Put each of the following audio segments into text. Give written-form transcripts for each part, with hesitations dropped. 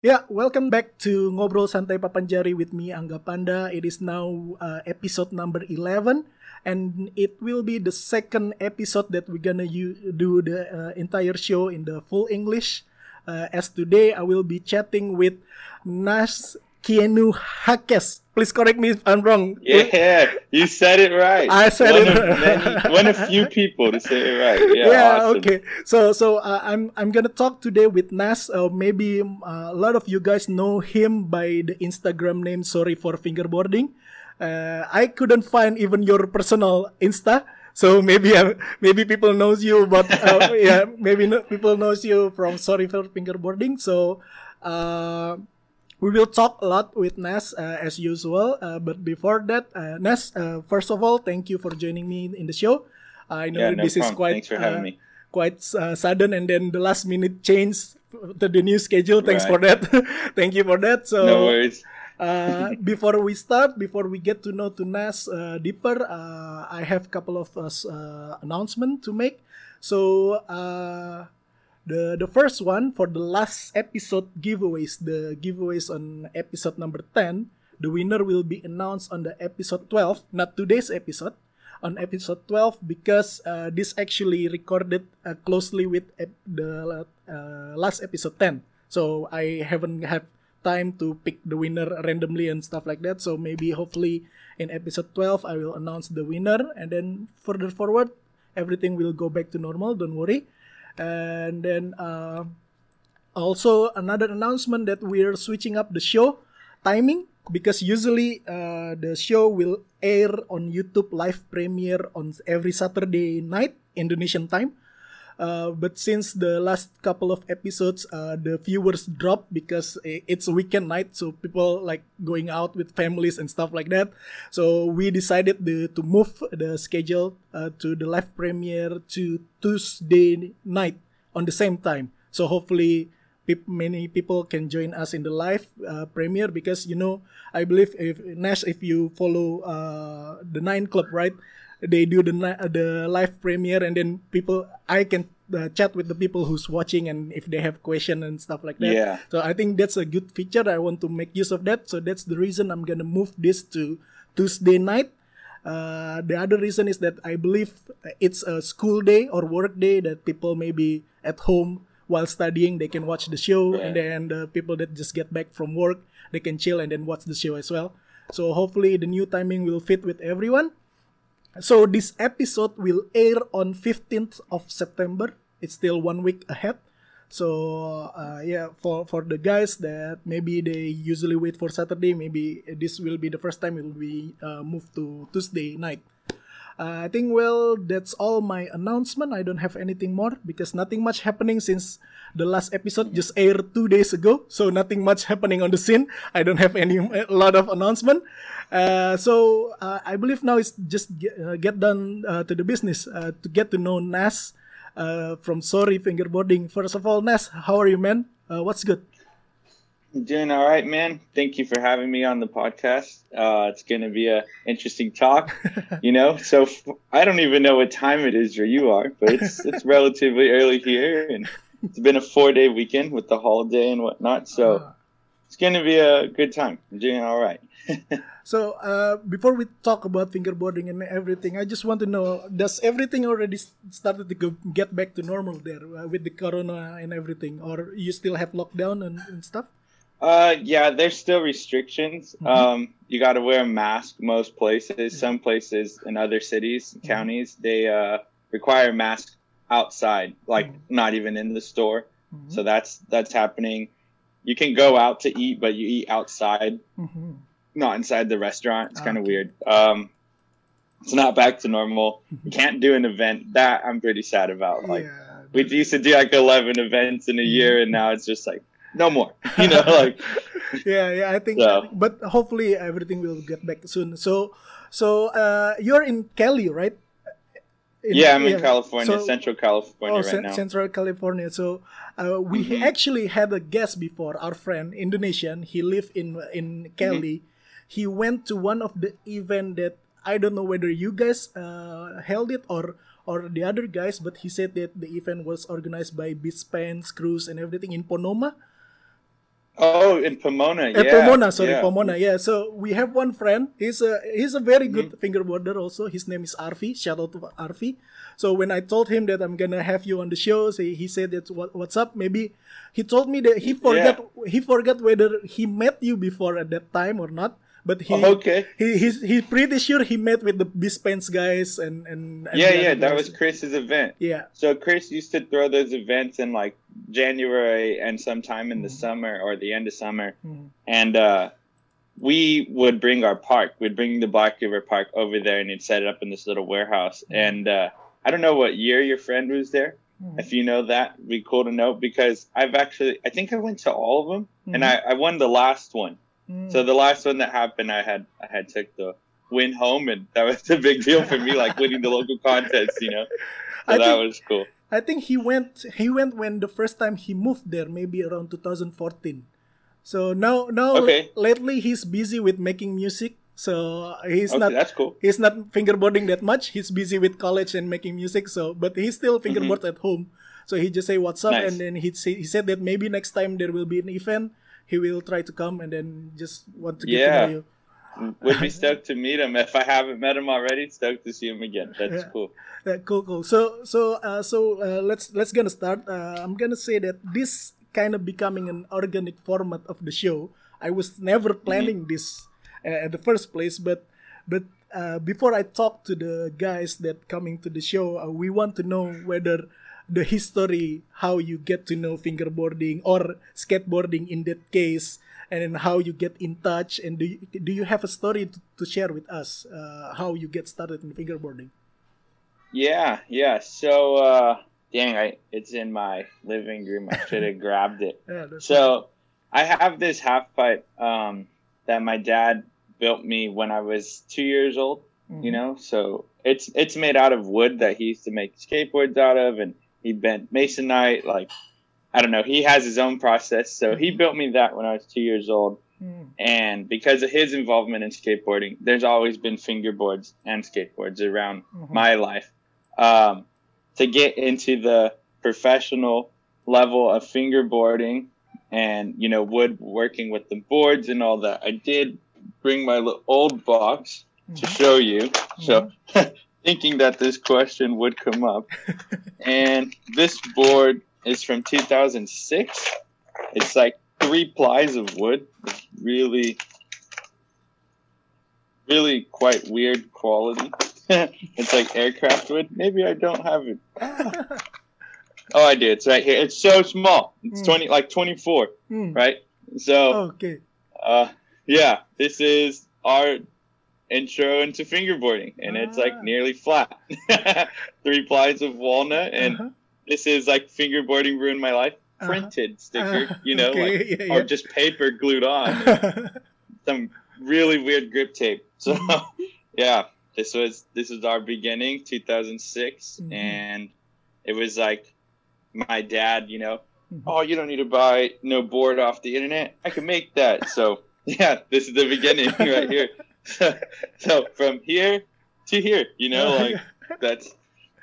Yeah, welcome back to Ngobrol Santai Papanjari with me, Angga Panda. It is now episode number 11, and it will be the second episode that we're gonna do the entire show in the full English. As today, I will be chatting with Nas Kienu Hakes. Please correct me if I'm wrong. Yeah, you said it right. I said one it. One of few people to say it right. Yeah, awesome. Okay. So I'm gonna talk today with Nas. Maybe a lot of you guys know him by the Instagram name Sorry for Fingerboarding. I couldn't find even your personal Insta. So maybe people knows you, but people knows you from Sorry for Fingerboarding. So we will talk a lot with Nas as usual. But before that, Nas, first of all, thank you for joining me in the show. I know this is quite Thanks for having me. Quite sudden, and then the last minute change to the new schedule. Thanks for that. Thank you for that. So no worries. Before we get to know Nas deeper, I have a couple of announcements to make. So the first one for the last episode giveaways, the giveaways on episode number 10, the winner will be announced on the episode 12, not today's episode, on episode 12, because this actually recorded closely with the last episode 10. So I haven't had time to pick the winner randomly and stuff like that. So maybe hopefully in episode 12 I will announce the winner, and then further forward everything will go back to normal, don't worry. And then also another announcement that we're switching up the show timing, because usually the show will air on YouTube live premiere on every Saturday night Indonesian time. But since the last couple of episodes, the viewers dropped because it's a weekend night, so people like going out with families and stuff like that. So we decided to move the schedule to the live premiere to Tuesday night on the same time. So hopefully many people can join us in the live premiere, because I believe if you follow the Nine Club, right? They do the live premiere, and then I can chat with the people who's watching, and if they have question and stuff like that. Yeah. So I think that's a good feature. I want to make use of that. So that's the reason I'm gonna move this to Tuesday night. The other reason is that I believe it's a school day or work day, that people may be at home while studying. They can watch the show, Right. and then the people that just get back from work, they can chill and then watch the show as well. So hopefully the new timing will fit with everyone. So this episode will air on 15th of September. It's still 1 week ahead. So for the guys that maybe they usually wait for Saturday, maybe this will be the first time it will be moved to Tuesday night. I think, that's all my announcement. I don't have anything more, because nothing much happening since the last episode just aired 2 days ago. So nothing much happening on the scene. I don't have a lot of announcement. So I believe now it's just get done to the business, to get to know Nas from Sorry Fingerboarding. First of all, Nas, how are you, man? What's good? Doing all right, man. Thank you for having me on the podcast. It's going to be a interesting talk, So I don't even know what time it is where you are, but it's relatively early here, and it's been a 4-day weekend with the holiday and whatnot. So it's going to be a good time. I'm doing all right. So before we talk about fingerboarding and everything, I just want to know, does everything already started to get back to normal there with the corona and everything, or you still have lockdown and stuff? Yeah, there's still restrictions. Mm-hmm. You got to wear a mask most places. Some places in other cities, counties, they require a mask outside, like not even in the store. Mm-hmm. So that's happening. You can go out to eat, but you eat outside, not inside the restaurant. It's kind of weird. It's not back to normal. You can't do an event. That I'm pretty sad about. Like we used to do like 11 events in a year, and now it's just like, no more, like. I think so. But hopefully everything will get back soon. So you're in Cali, right? I'm in California, Central California right now. Central California. So we actually had a guest before, our friend, Indonesian. He lived in Cali. He went to one of the event that I don't know whether you guys held it or the other guys, but he said that the event was organized by Beach Pants, Cruise, and everything in Ponoma. Oh, in Pomona, Pomona, sorry, yeah. Pomona. Yeah. So we have one friend. He's a very good fingerboarder. Also, his name is Arfi. Shout out to Arfi. So when I told him that I'm gonna have you on the show, he said that what's up? Maybe he told me that he forgot whether he met you before at that time or not. But he's pretty sure he met with the Bispens guys and yeah, that was Chris's event. Yeah. So Chris used to throw those events in like January and sometime in the summer or the end of summer, and we would bring our park. We'd bring the Black River Park over there, and he'd set it up in this little warehouse. And I don't know what year your friend was there. If you know that, it'd be cool to know, because I think I went to all of them, and I won the last one. So the last one that happened, I had took the win home, and that was a big deal for me, like winning the local contest, So that was cool. I think he went when the first time he moved there, maybe around 2014. So now lately he's busy with making music. So that's cool. He's not fingerboarding that much. He's busy with college and making music. So, but he still fingerboards at home. So he just say what's up, and then he said that maybe next time there will be an event, he will try to come, and then just want to get to know you. Would be stoked to meet him. If I haven't met him already, stoked to see him again. That's cool. Cool. So let's gonna start. I'm gonna say that this kind of becoming an organic format of the show. I was never planning this at the first place, but before I talk to the guys that coming to the show, we want to know whether the history, how you get to know fingerboarding or skateboarding in that case, and then how you get in touch, and do you have a story to share with us, how you get started in fingerboarding? Yeah. So, it's in my living room. I should have grabbed it. So, I have this half pipe that my dad built me when I was 2 years old. So it's made out of wood that he used to make skateboards out of, and he bent masonite, like, I don't know. He has his own process. So he built me that when I was 2 years old. And because of his involvement in skateboarding, there's always been fingerboards and skateboards around my life. To get into the professional level of fingerboarding and, woodworking with the boards and all that, I did bring my old box to show you. So thinking that this question would come up. And this board is from 2006. It's like 3 plies of wood. It's really, really quite weird quality. It's like aircraft wood. Maybe I don't have it. Oh, I do. It's right here. It's so small. It's 24, right? So, this is our intro into fingerboarding, and it's like nearly flat. 3 plies of walnut, and this is like fingerboarding ruined my life. Printed sticker, or just paper glued on. Some really weird grip tape. So, this was our beginning, 2006, and it was like my dad, oh, you don't need to buy no board off the internet. I can make that. So, this is the beginning right here. So from here to here, that's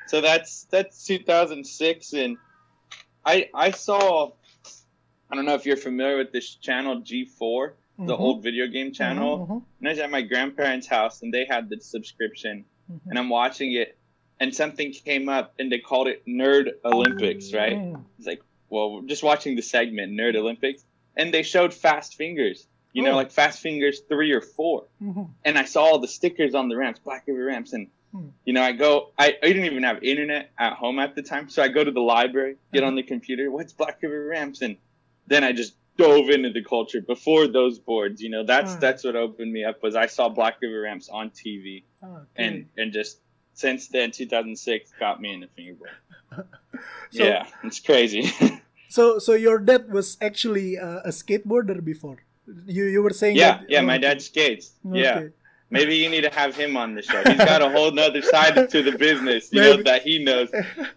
2006, and I saw, I don't know if you're familiar with this channel G4, the old video game channel. And I was at my grandparents' house, and they had the subscription, and I'm watching it, and something came up, and they called it Nerd Olympics, right? It's like, well, we're just watching the segment Nerd Olympics, and they showed Fast Fingers. Like Fast Fingers 3 or 4. And I saw all the stickers on the ramps, Black River ramps. And, I didn't even have internet at home at the time. So I go to the library, get on the computer. What's Black River ramps? And then I just dove into the culture before those boards. That's what opened me up, was I saw Black River ramps on TV. And just since then, 2006 got me into fingerboard. It's crazy. So your dad was actually a skateboarder before? You were saying that? Yeah, my dad skates. Okay. Yeah. Maybe you need to have him on the show. He's got a whole nother side to the business, that he knows.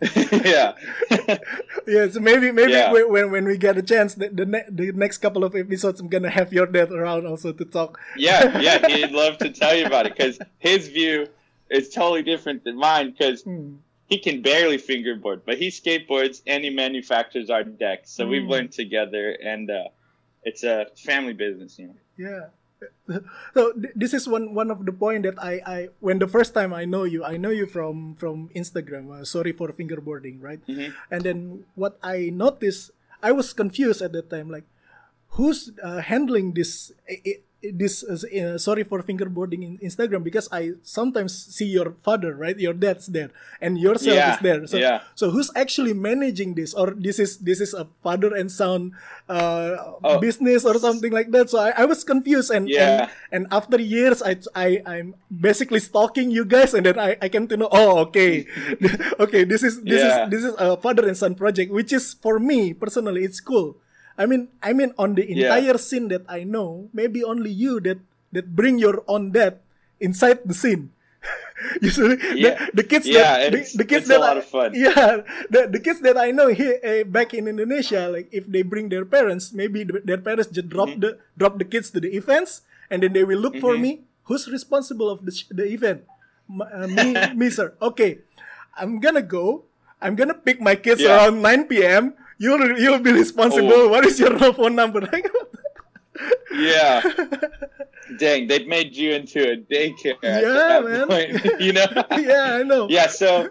So maybe when we get a chance, the next couple of episodes, I'm going to have your dad around also to talk. Yeah, he'd love to tell you about it, because his view is totally different than mine, because he can barely fingerboard, but he skateboards and he manufactures our decks. So we've learned together, and it's a family business, Yeah. So this is one of the point that I when the first time I know you from Instagram. Sorry for fingerboarding, right? Mm-hmm. And then what I noticed, I was confused at that time, like who's handling this sorry for fingerboarding in Instagram, because I sometimes see your father, right? Your dad's there, and yourself is there. So so who's actually managing this, or this is a father and son business or something like that? So I was confused, and after years I'm basically stalking you guys, and then I came to know, oh, okay, okay, this is a father and son project, which is, for me personally, it's cool. I mean, on the entire scene that I know, maybe only you that bring your own dad inside the scene. Usually, the kids the kids it's a lot of fun. Yeah, the kids that I know here back in Indonesia, like if they bring their parents, maybe their parents just drop the kids to the events, and then they will look for me. Who's responsible of the event? Me, sir. Okay, I'm gonna go. I'm gonna pick my kids around 9 p.m. You'll be responsible. What is your phone number? Yeah. Dang, they've made you into a daycare at that point. Yeah, I know. Yeah, so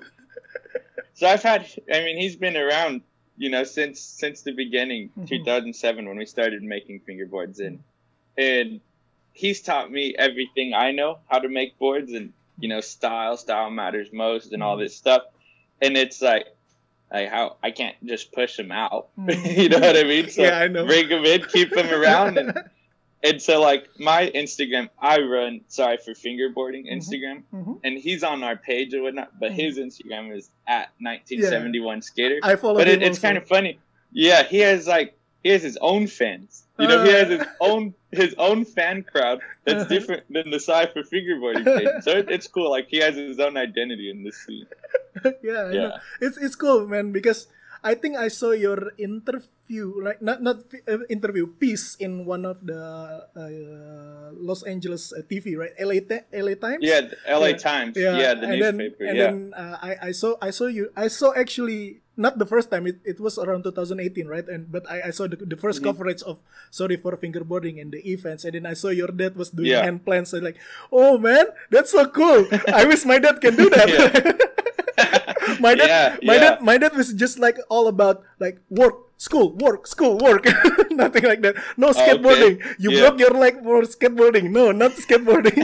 he's been around, since the beginning, 2007, when we started making fingerboards, and he's taught me everything I know how to make boards, and style matters most, and all this stuff. And it's like how I can't just push them out. You know what I mean? So I know. Bring them in, keep them around, and so like my Instagram, I run Sorry for Fingerboarding Instagram, and he's on our page or whatnot, but his Instagram is at 1971 Skater. I follow but him it's also. kind of funny. Yeah, he has his own fans. He has his own fan crowd that's different than the Sorry for Fingerboarding page. So it's cool. Like, he has his own identity in this scene. Yeah, I know. It's cool, man, because I think I saw your interview, like not interview, piece in one of the Los Angeles TV, right? LA Times. Yeah, LA Times. Yeah, the newspaper. Then I saw you. I saw actually not the first time. It was around 2018, right? But I saw the first coverage of Sorry for Fingerboarding and the events, and then I saw your dad was doing hand plants. And like, oh man, that's so cool. I wish my dad can do that. My dad was just like all about like work, school, work, nothing like that. No skateboarding. Okay. You broke your leg for skateboarding. No, not skateboarding.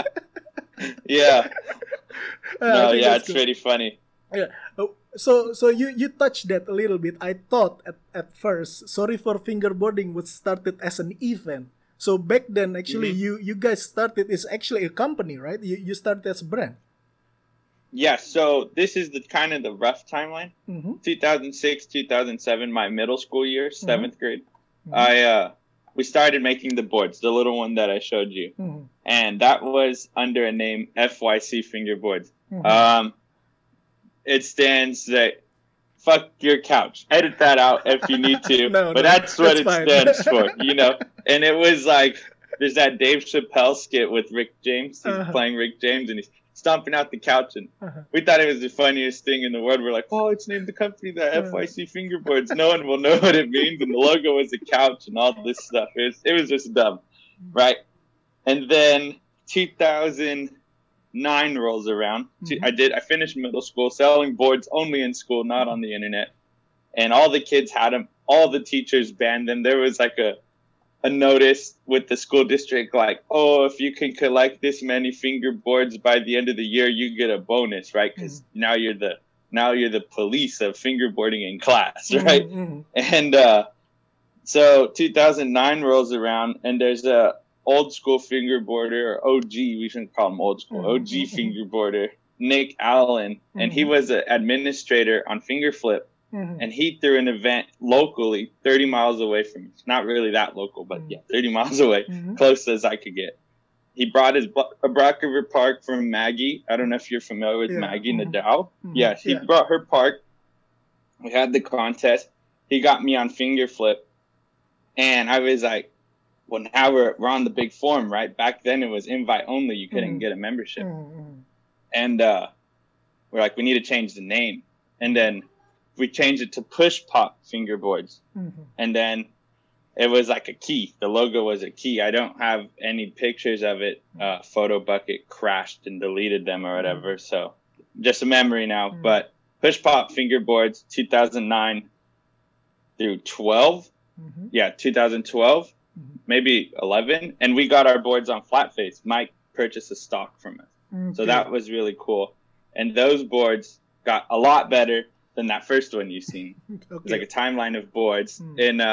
It's pretty funny. Yeah. So you touched that a little bit. I thought at first Sorry for Fingerboarding was started as an event. So back then, actually, you guys started is actually a company, right? You started as a brand. Yeah, so this is the rough timeline. 2006, 2007, my middle school year, 7th grade. We started making the boards, the little one that I showed you. And that was under a name FYC Fingerboards. It stands that fuck your couch. Edit that out if you need to. But that's what it stands for, And it was like, there's that Dave Chappelle skit with Rick James. He's playing Rick James, and he's stomping out the couch, and we thought it was the funniest thing in the world. We're like, oh, it's named the company the FYC Fingerboards. No one will know what it means, and the logo was a couch and all this stuff. It was just dumb, right? And then 2009 rolls around. I finished middle school, selling boards only in school, not on the internet, and all the kids had them. All the teachers banned them. There was like a notice with the school district, like, oh, if you can collect this many fingerboards by the end of the year, you get a bonus, right? Because now you're the police of fingerboarding in class, right? And so 2009 rolls around, and there's a old school fingerboarder, or OG, we shouldn't call him old school, OG fingerboarder, Nick Allen, and he was an administrator on Fingerflip. And he threw an event locally 30 miles away from me. Not really that local, but 30 miles away, close as I could get. He brought his Brock River Park from Maggie. I don't know if you're familiar with Maggie Nadal. Yeah, he brought her park. We had the contest. He got me on Fingerflip. And I was like, well, now we're on the big forum, right? Back then it was invite only. You couldn't get a membership. And we're like, we need to change the name. And then we changed it to Push Pop Fingerboards. And then it was like a key. The logo was a key. I don't have any pictures of it. Photobucket crashed and deleted them or whatever. So just a memory now. But Push Pop fingerboards, 2009 through 12. Yeah, 2012, maybe 11. And we got our boards on flat face. Mike purchased a stock from us. So that was really cool. And those boards got a lot better than that first one you've seen. It was like a timeline of boards.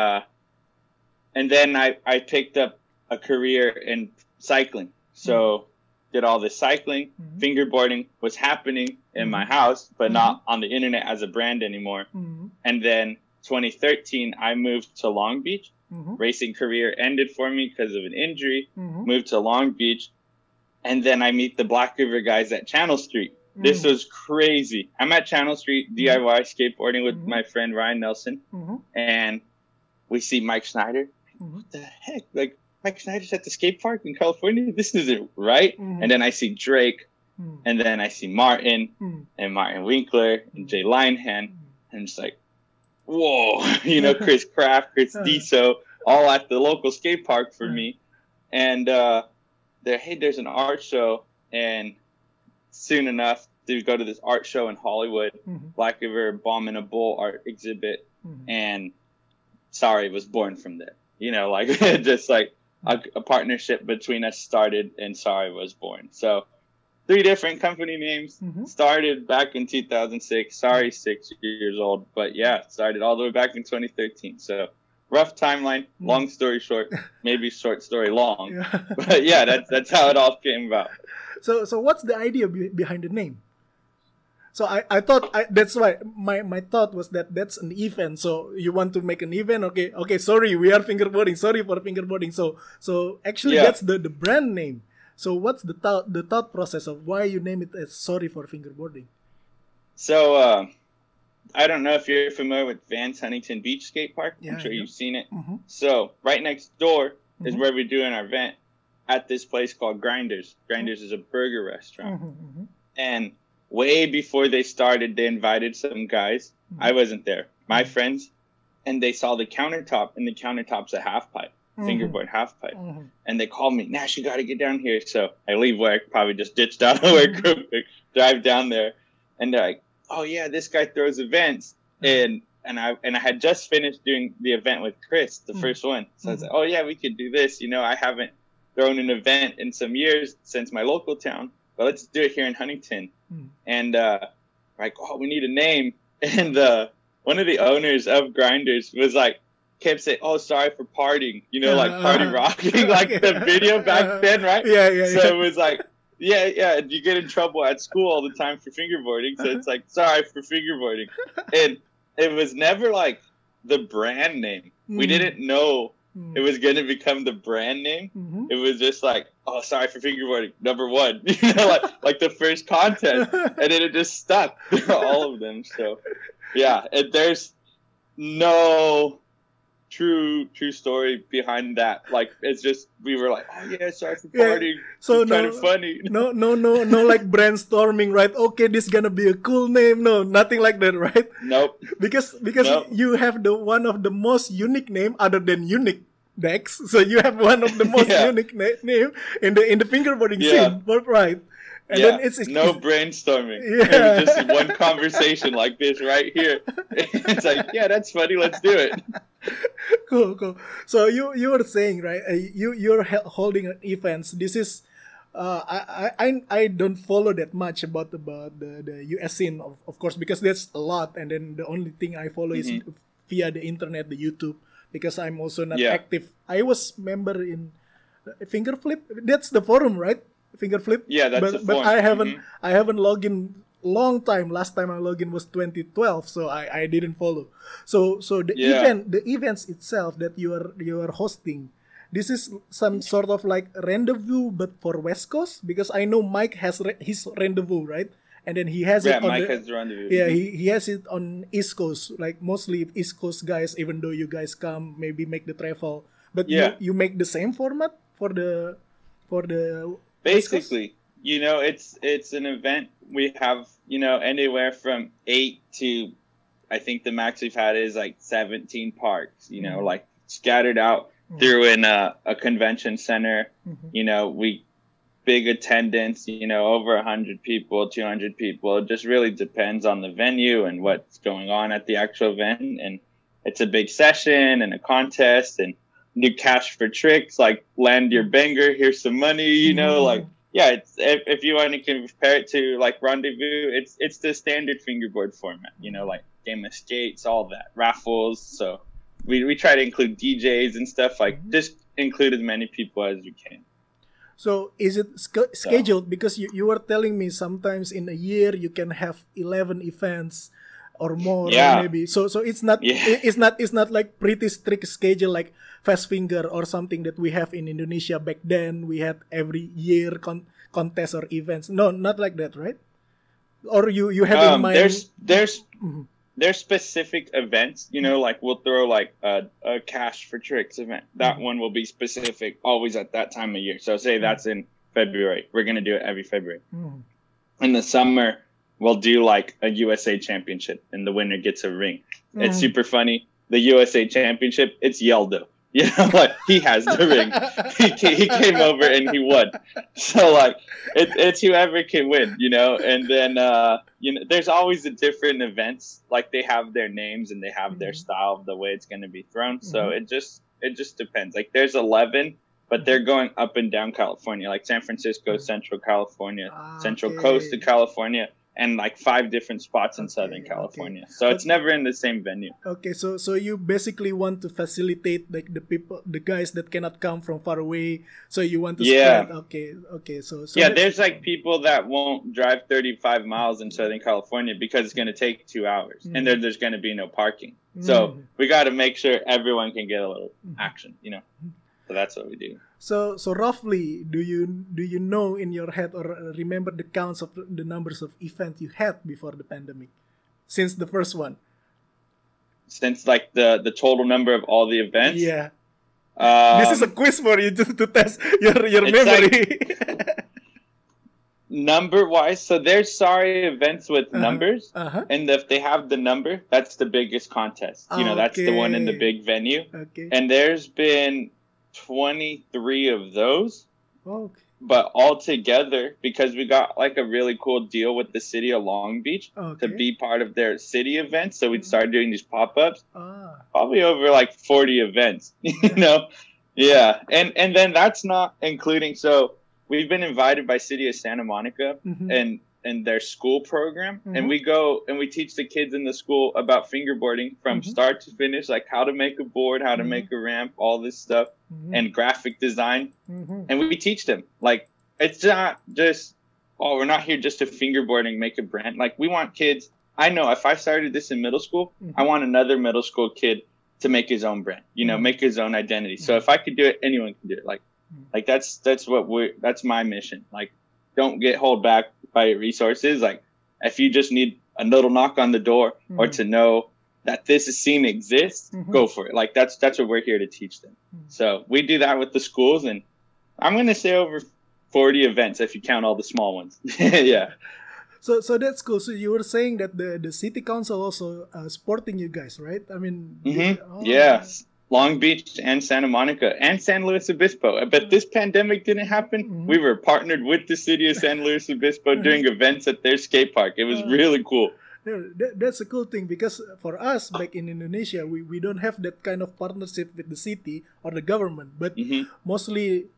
And then I picked up a career in cycling. So did all this cycling. Fingerboarding was happening in my house, but not on the internet as a brand anymore. And then 2013, I moved to Long Beach. Racing career ended for me because of an injury. Moved to Long Beach. And then I meet the Black River guys at Channel Street. This was crazy. I'm at Channel Street DIY skateboarding with my friend Ryan Nelson. And we see Mike Schneider. What the heck? Like, Mike Schneider's at the skate park in California? This isn't right. And then I see Drake. And then I see Martin and Martin Winkler and Jay Linehan. And it's like, whoa, you know, Chris Kraft, Chris Diso, all at the local skate park for me. And there's an art show. And soon enough, to go to this art show in Hollywood, Black River Bomb in a Bowl art exhibit. And Sorry was born from there. You know, like just like a partnership between us started and Sorry was born. So 3 different company names started back in 2006. Sorry, 6 years old. But yeah, started all the way back in 2013. So rough timeline, long story short, maybe short story long. But yeah, that's how it all came about. So what's the idea behind the name? So I thought that's why my thought was that that's an event. So you want to make an event? Okay. Sorry, we are fingerboarding. Sorry for fingerboarding. So actually that's the brand name. So what's the thought process of why you name it as Sorry for Fingerboarding? So I don't know if you're familiar with Vans Huntington Beach Skate Park. I'm sure you've seen it. So right next door is where we're doing our event at this place called Grinders. Grinders is a burger restaurant. And way before they started, they invited some guys. I wasn't there. My friends. And they saw the countertop, and the countertop's a half pipe, fingerboard half pipe. And they called me, Nash, you got to get down here. So I leave work, probably just ditched out of work, drive down there. And they're like, oh, yeah, this guy throws events. And I had just finished doing the event with Chris, the first one. So I was like, oh, yeah, we could do this. You know, I haven't thrown an event in some years since my local town, but let's do it here in Huntington. And like, oh, we need a name. And one of the owners of Grinders was like, kept saying, oh, sorry for partying, you know, like party rocking, like the video back then, right? So it was like, yeah, you get in trouble at school all the time for fingerboarding. So it's like, sorry for fingerboarding. And it was never like the brand name. We didn't know it was going to become the brand name. It was just like, oh, sorry for fingerboarding, number 1, you know, like the first contest. And then it just stuck, all of them. So yeah, there's no true story behind that. Like, it's just, we were like, oh yeah, sorry for partying. So kind of funny. No, like brainstorming, right? Okay, this is gonna be a cool name. No, nothing like that, right? Nope. Because you have one of the most unique name other than unique, Dex. So you have one of the most unique name in the fingerboarding scene, right? And then it's no brainstorming. It was just one conversation like this right here. It's like, yeah, that's funny. Let's do it. Cool. So you were saying, right? You're holding events. This is I don't follow that much about the US scene, of course, because there's a lot. And then the only thing I follow is via the internet, the YouTube, because I'm also not active. I was member in Fingerflip. That's the forum, right? Fingerflip. Yeah, that's the forum. But I haven't logged in long time. Last time I logged in was 2012, so I didn't follow. So the events itself that you are hosting, this is some sort of like rendezvous, but for West Coast, because I know Mike has his rendezvous, right? And then he has it on Mike has the rendezvous. Yeah, he has it on East Coast, like mostly East Coast guys. Even though you guys come, maybe make the travel, but you make the same format for the basically. You know, it's an event. We have, you know, anywhere from 8 to, I think the max we've had is like 17 parks, you know, like scattered out through in a convention center. You know, big attendance, you know, over 100 people, 200 people. It just really depends on the venue and what's going on at the actual event. And it's a big session and a contest and new cash for tricks, like land your banger, here's some money, you know, like, yeah, it's, if you want to compare it to like Rendezvous, it's the standard fingerboard format, you know, like game of skates, all that, raffles. So we try to include DJs and stuff, like just include as many people as we can. So is it scheduled? Because you were telling me sometimes in a year you can have 11 events or more, or maybe. So it's not it's not like pretty strict schedule like Fast Finger or something that we have in Indonesia back then. We had every year contests or events. No, not like that, right? Or you have in mind? There's specific events, you know, like we'll throw like a cash for tricks event. That one will be specific always at that time of year. So say that's in February. We're going to do it every February. In the summer, we'll do like a USA championship and the winner gets a ring. It's super funny. The USA championship, it's Yeldo. You know, like he has the ring. He came over and he won. So like it's whoever can win, you know. And then you know, there's always the different events. Like they have their names and they have their style of the way it's going to be thrown. So it just depends. Like there's 11, but they're going up and down California, like San Francisco, Central California, Central Coast of California. And like 5 different spots in Southern California. So it's never in the same venue. Okay, so you basically want to facilitate like the guys that cannot come from far away. So you want to spread. Okay. So yeah, there's like people that won't drive 35 miles in Southern California because it's going to take 2 hours, and there's going to be no parking. So we got to make sure everyone can get a little action, you know. So that's what we do. So roughly, do you know in your head or remember the counts of the numbers of events you had before the pandemic, since the first one? Since like the total number of all the events? Yeah. This is a quiz for you just to test your memory. Like, number wise, so there's events with numbers, and if they have the number, that's the biggest contest. You know, that's the one in the big venue. Okay. And there's been 23 of those. Okay. But all together, because we got like a really cool deal with the city of Long Beach to be part of their city events, so we'd start doing these pop-ups. Probably over like 40 events, you know. Yeah. And then that's not including, so we've been invited by City of Santa Monica and their school program, and we go and we teach the kids in the school about fingerboarding from start to finish, like how to make a board, how to make a ramp, all this stuff, and graphic design. And we teach them, like, it's not just, we're not here just to fingerboarding, make a brand. Like, we want kids, I know if I started this in middle school, I want another middle school kid to make his own brand, you know, make his own identity. So if I could do it, anyone can do it. Like that's my mission. Like, don't get held back by your resources. Like, if you just need a little knock on the door or to know that this scene exists, go for it. Like, that's what we're here to teach them. So we do that with the schools, and I'm going to say over 40 events if you count all the small ones. Yeah. So that's cool. So you were saying that the city council also supporting you guys, right? I mean, yes. Long Beach and Santa Monica and San Luis Obispo. But this pandemic didn't happen. We were partnered with the city of San Luis Obispo doing events at their skate park. It was really cool. That's a cool thing, because for us back in Indonesia, we don't have that kind of partnership with the city or the government. But mostly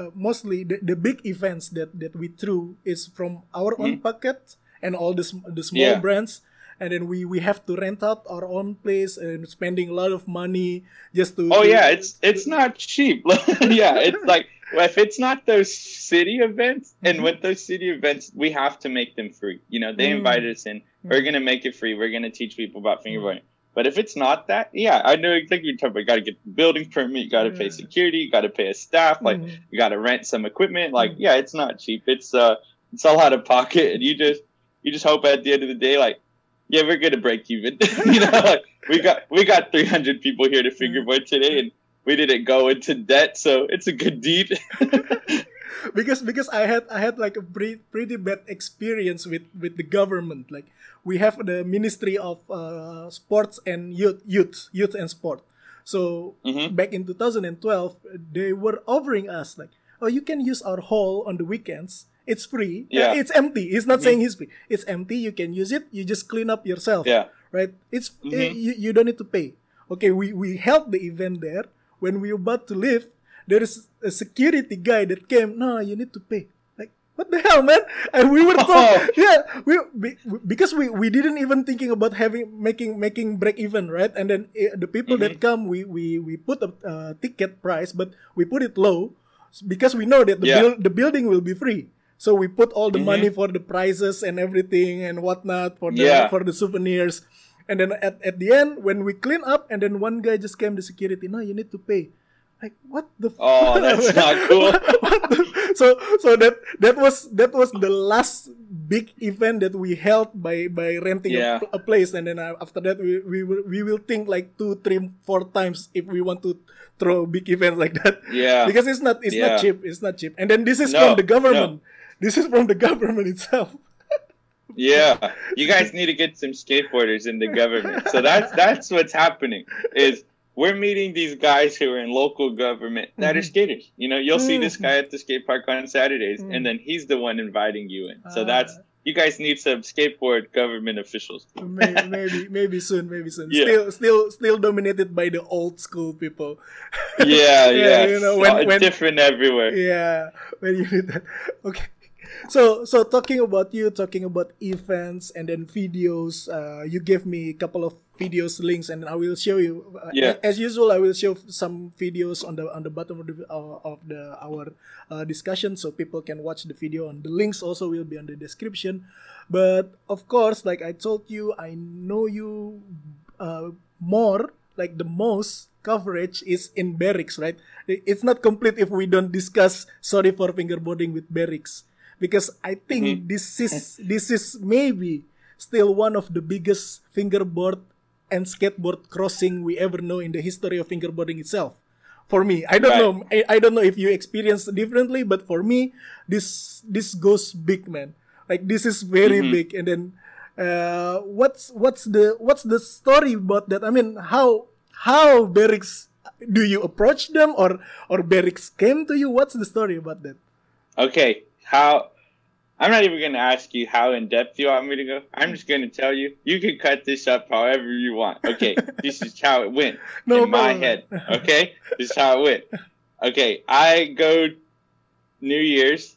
the big events that we threw is from our own pocket and all the small brands. And then we have to rent out our own place and spending a lot of money just to... It's not cheap. Yeah, it's like, if it's not those city events, and with those city events, we have to make them free. You know, they invited us in. We're going to make it free. We're going to teach people about fingerboarding. But if it's not that, I know exactly what you're talking about. You got to get the building permit. You got to pay security. You got to pay a staff. Like, you got to rent some equipment. Like, it's not cheap. It's all out of pocket. And you just hope at the end of the day, like, yeah, we're gonna break even. You know, like, we got 300 people here to fingerboard today, and we didn't go into debt, so it's a good deed. because I had like a pretty bad experience with the government. Like, we have the Ministry of Sports and Youth and Sport. So Mm-hmm. back in 2012, they were offering us like, oh, you can use our hall on the weekends. It's free. Yeah. It's empty. He's not Mhm. saying it's free. It's empty. You can use it. You just clean up yourself. Yeah. Right? It's Mhm. you don't need to pay. Okay, we held the event there. When we were about to leave, there is a security guy that came. No, you need to pay. Like, what the hell, man? And we were told, yeah, because we didn't even thinking about making break even, right? And then the people that come, we put a ticket price, but we put it low because we know that the building will be free. So we put all the money for the prizes and everything and whatnot for the souvenirs. And then at the end, when we clean up, and then one guy just came to security. No, you need to pay. Like, what the? Oh, that's not cool. So that was the last big event that we held by renting a place, and then after that we will think like 2, 3, 4 times if we want to throw big events like that. Yeah, because it's not cheap. It's not cheap. And then this is from the government. This is from the government itself. Yeah, you guys need to get some skateboarders in the government. So that's what's happening. Is we're meeting these guys who are in local government that are skaters. You know, you'll see this guy at the skate park on Saturdays, and then he's the one inviting you in. So you guys need some skateboard government officials. maybe soon. Yeah. Still dominated by the old school people. Yeah. You know, when different everywhere. Yeah, when you do that. Okay. So talking about events and then videos, you gave me a couple of videos links, and I will show you. As usual, I will show some videos on the bottom of our discussion, so people can watch the video. And the links also will be on the description. But of course, like I told you, I know you more. Like the most coverage is in Berrics, right? It's not complete if we don't discuss Sorry for Fingerboarding with Berrics. Because I think this is maybe still one of the biggest fingerboard and skateboard crossing we ever know in the history of fingerboarding itself. For me, I don't know. I don't know if you experience differently, but for me, this goes big, man. Like this is very big. And then, what's the story about that? I mean, how Berrics, do you approach them or Berrics came to you? What's the story about that? Okay. I'm not even going to ask you how in depth you want me to go. I'm just going to tell you. You can cut this up however you want. Okay, this is how it went my head. Okay, this is how it went. Okay, I go New Year's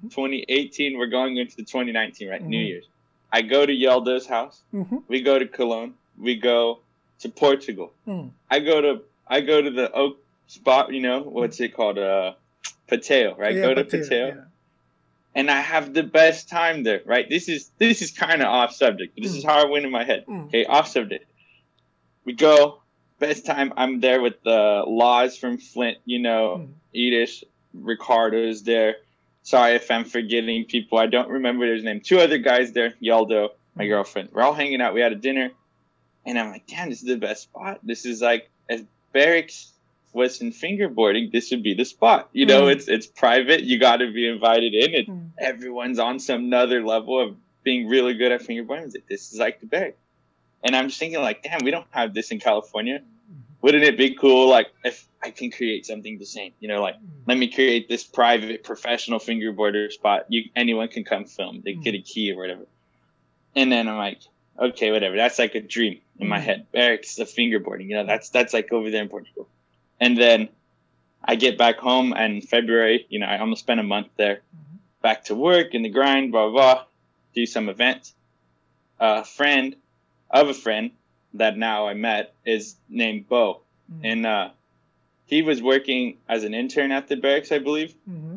2018. We're going into 2019, right? New Year's. I go to Yeldo's house. We go to Cologne. We go to Portugal. I go to the Oak spot. You know what's it called? Pateo, right? Go to Pateo. Yeah. And I have the best time there, right? This is kind of off subject. This is how I went in my head. Okay, off subject. We go, best time. I'm there with the Laws from Flint, you know, Edish, Ricardo's there. Sorry if I'm forgetting people. I don't remember his name. 2 other guys there, Yeldo, my girlfriend. We're all hanging out. We had a dinner. And I'm like, damn, this is the best spot. This is like, as Berrics was in fingerboarding, this would be the spot. You know, it's private. You got to be invited in. Everyone's on some other level of being really good at fingerboarding. This is like the bag. And I'm just thinking, like, damn, we don't have this in California. Wouldn't it be cool, like, if I can create something the same? You know, like, let me create this private, professional fingerboarder spot. Anyone can come film. They get a key or whatever. And then I'm like, okay, whatever. That's like a dream in my head. Berrics of fingerboarding. You know, that's like over there in Portugal. And then I get back home in February, you know, I almost spent a month there, back to work in the grind, blah, blah, blah, do some events. A friend of a friend that now I met is named Bo. And he was working as an intern at the Berrics, I believe.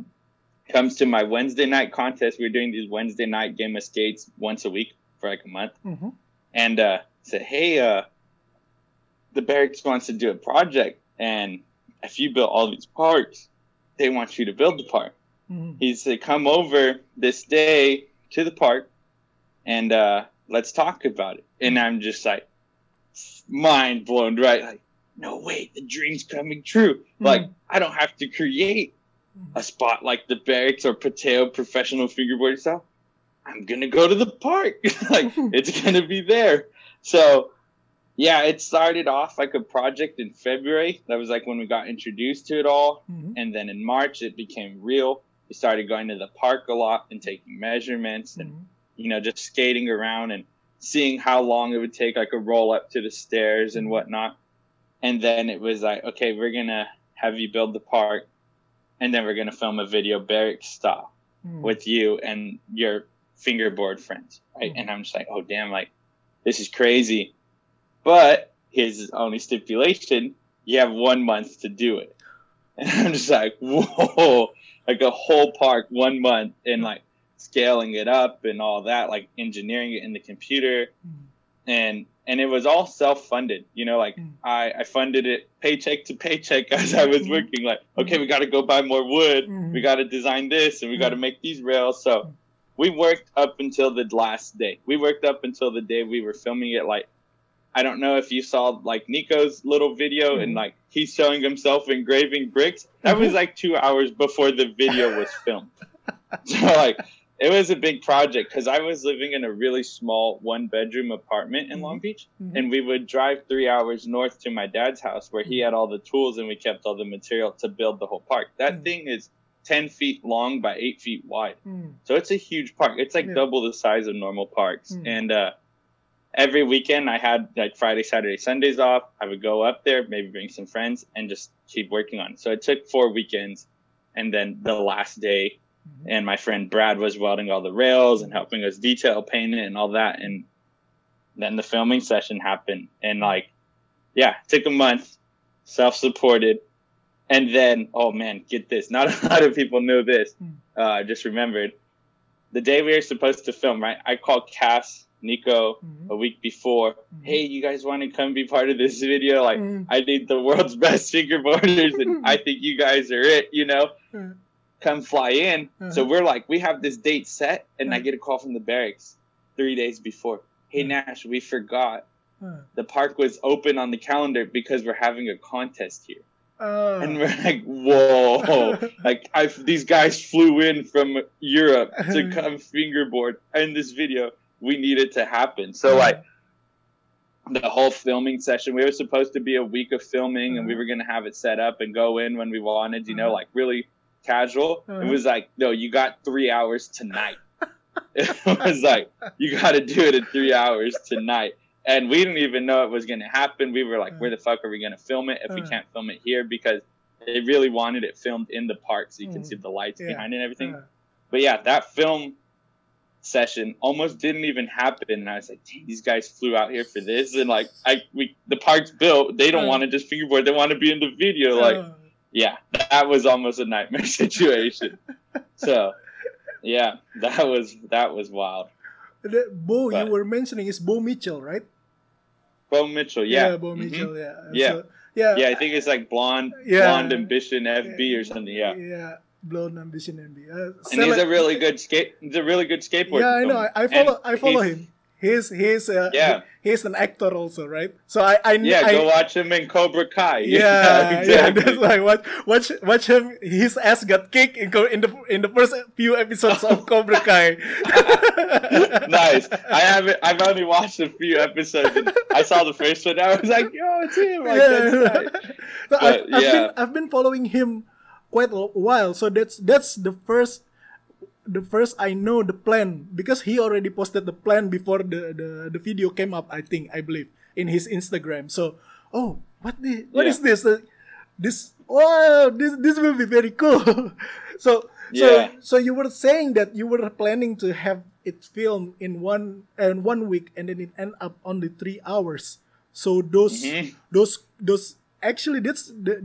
Comes to my Wednesday night contest. We're doing these Wednesday night game of skates once a week for like a month. And said, hey, the Berrics wants to do a project. And if you build all these parks, they want you to build the park. He said, come over this day to the park and let's talk about it. And I'm just like, mind blown, right? Like, no way, the dream's coming true. Like, I don't have to create a spot like the Berrics or Pateo professional fingerboard stuff. I'm going to go to the park. Like, it's going to be there. So, Yeah, it started off like a project in February. That was like when we got introduced to it all. And then in March, it became real. We started going to the park a lot and taking measurements and, just skating around and seeing how long it would take, like a roll up to the stairs and whatnot. And then it was like, okay, we're going to have you build the park. And then we're going to film a video barrack style with you and your fingerboard friends. Right. And I'm just like, oh, damn, like, this is crazy. But his only stipulation, you have 1 month to do it. And I'm just like, whoa, like a whole park, 1 month, and like scaling it up and all that, like engineering it in the computer. And it was all self-funded, like I funded it paycheck to paycheck as I was working, like, okay, we got to go buy more wood. We got to design this and we got to make these rails. So we worked up until the last day. We worked up until the day we were filming it. Like, I don't know if you saw like Nico's little video and like he's showing himself engraving bricks. That was like 2 hours before the video was filmed. So like it was a big project because I was living in a really small 1-bedroom apartment in Long Beach, and we would drive 3 hours north to my dad's house where he had all the tools and we kept all the material to build the whole park. That thing is 10 feet long by 8 feet wide. So it's a huge park. It's like double the size of normal parks. And every weekend I had like Friday, Saturday, Sundays off. I would go up there, maybe bring some friends and just keep working on it. So it took 4 weekends. And then the last day, and my friend Brad was welding all the rails and helping us detail paint it and all that. And then the filming session happened. And like, yeah, it took a month, self-supported. And then, oh man, get this. Not a lot of people know this. I just remembered. The day we were supposed to film, right? I called Cass, Nico, a week before. Hey, you guys want to come be part of this video? Like, I need the world's best fingerboarders, and I think you guys are it, Come fly in. So we're like, we have this date set, and I get a call from the barracks 3 days before. Hey, Nash, we forgot. The park was open on the calendar because we're having a contest here. And we're like, whoa, like these guys flew in from Europe to come fingerboard in this video. We need it to happen. So like the whole filming session, we were supposed to be a week of filming and we were going to have it set up and go in when we wanted, like really casual. It was like, no, you got 3 hours tonight. It was like, you got to do it in 3 hours tonight. And we didn't even know it was going to happen. We were like, where the fuck are we going to film it if we can't film it here? Because they really wanted it filmed in the park so you can see the lights behind it and everything. But yeah, that film session almost didn't even happen. And I was like, dang, these guys flew out here for this. And like, the park's built. They don't want to just fingerboard. They want to be in the video. Like, yeah, that was almost a nightmare situation. So, yeah, that was wild. Bo, you were mentioning is Bo Mitchell, right? Bo Mitchell, yeah. Yeah, Bo Mitchell, yeah. Yeah. So, yeah. Yeah, I think it's like Blonde Ambition FB or something, yeah. Yeah, Blonde Ambition FB. And he's a really good skateboarder. Yeah, I know. I follow him. He's an actor also, right? So I go watch him in Cobra Kai. Yeah, exactly. That's like watch him. His ass got kicked in the first few episodes of Cobra Kai. Nice. I've only watched a few episodes. And I saw the first one. I was like, yo, it's him. Like, that's nice. So I've been following him quite a while. So that's the first I know the plan, because he already posted the plan before the video came up, I believe, in his Instagram. So, what is this? This will be very cool. So you were saying that you were planning to have it filmed in one week, and then it end up only 3 hours. So those actually that's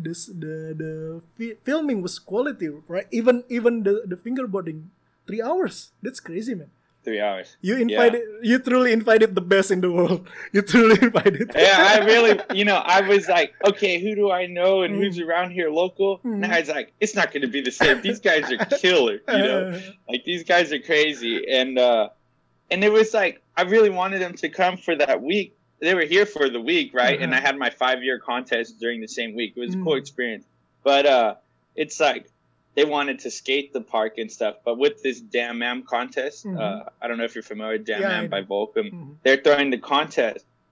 the filming was quality, right? Even the fingerboarding. 3 hours. That's crazy, man. 3 hours. You truly invited the best in the world. You truly invited. Yeah, I really, I was like, okay, who do I know and who's around here local? And I was like, it's not going to be the same. These guys are killer, like these guys are crazy. And it was like, I really wanted them to come for that week. They were here for the week, right? And I had my 5-year contest during the same week. It was a cool experience. But it's like, they wanted to skate the park and stuff, but with this Damn Am contest, I don't know if you're familiar with Damn Am by Volcom. They're throwing the contest.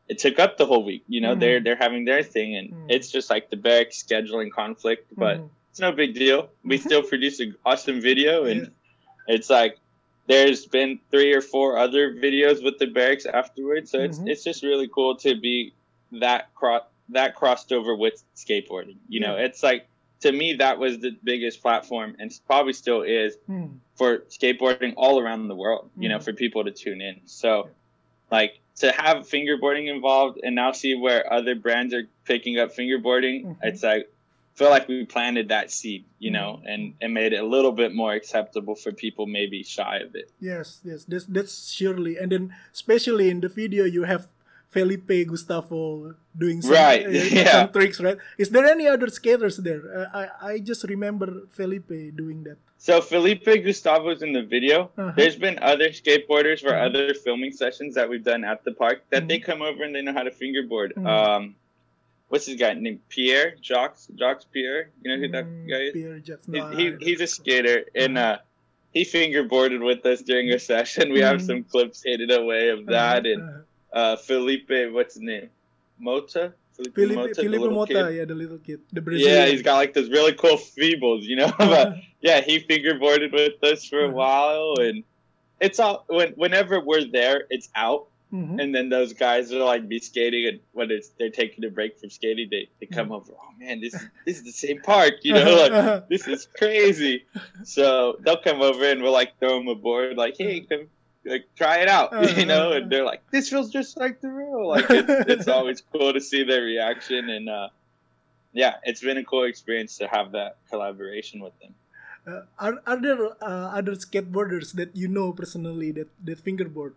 it took up the whole week. You know, they're having their thing, and it's just like the barracks scheduling conflict, but it's no big deal. We still produce an awesome video, and it's like there's been 3 or 4 other videos with the barracks afterwards. So it's just really cool to be that crossed over with skateboarding. You know, it's like, to me, that was the biggest platform, and probably still is, for skateboarding all around the world, you know, for people to tune in. So, like, to have fingerboarding involved and now see where other brands are picking up fingerboarding, it's like, I feel like we planted that seed, you know, and made it a little bit more acceptable for people maybe shy of it. Yes, that's surely. And then, especially in the video, you have Felipe Gustavo doing some, some tricks, right? Is there any other skaters there? I just remember Felipe doing that. So Felipe Gustavo's in the video. There's been other skateboarders for other filming sessions that we've done at the park that they come over and they know how to fingerboard. What's his guy named? Pierre? Jacques Pierre? You know who that guy is? Pierre Jacques. He's a skater, and he fingerboarded with us during a session. We have some clips hidden away of that, and Felipe, what's his name? Mota? Felipe Mota, the little kid. The Brazilian. Yeah, he's got like those really cool feebles, you know? But yeah, he fingerboarded with us for a while, and it's all, whenever we're there, it's out. And then those guys are like be skating, and when they're taking a break from skating, they come over. Oh man, this is the same park, you know? Like, this is crazy. So they'll come over and we'll like throw them a board, like, hey, come. Like, try it out, you know, and they're like, this feels just like the real. Like, it's always cool to see their reaction, and it's been a cool experience to have that collaboration with them. Are there other skateboarders that you know personally that fingerboard?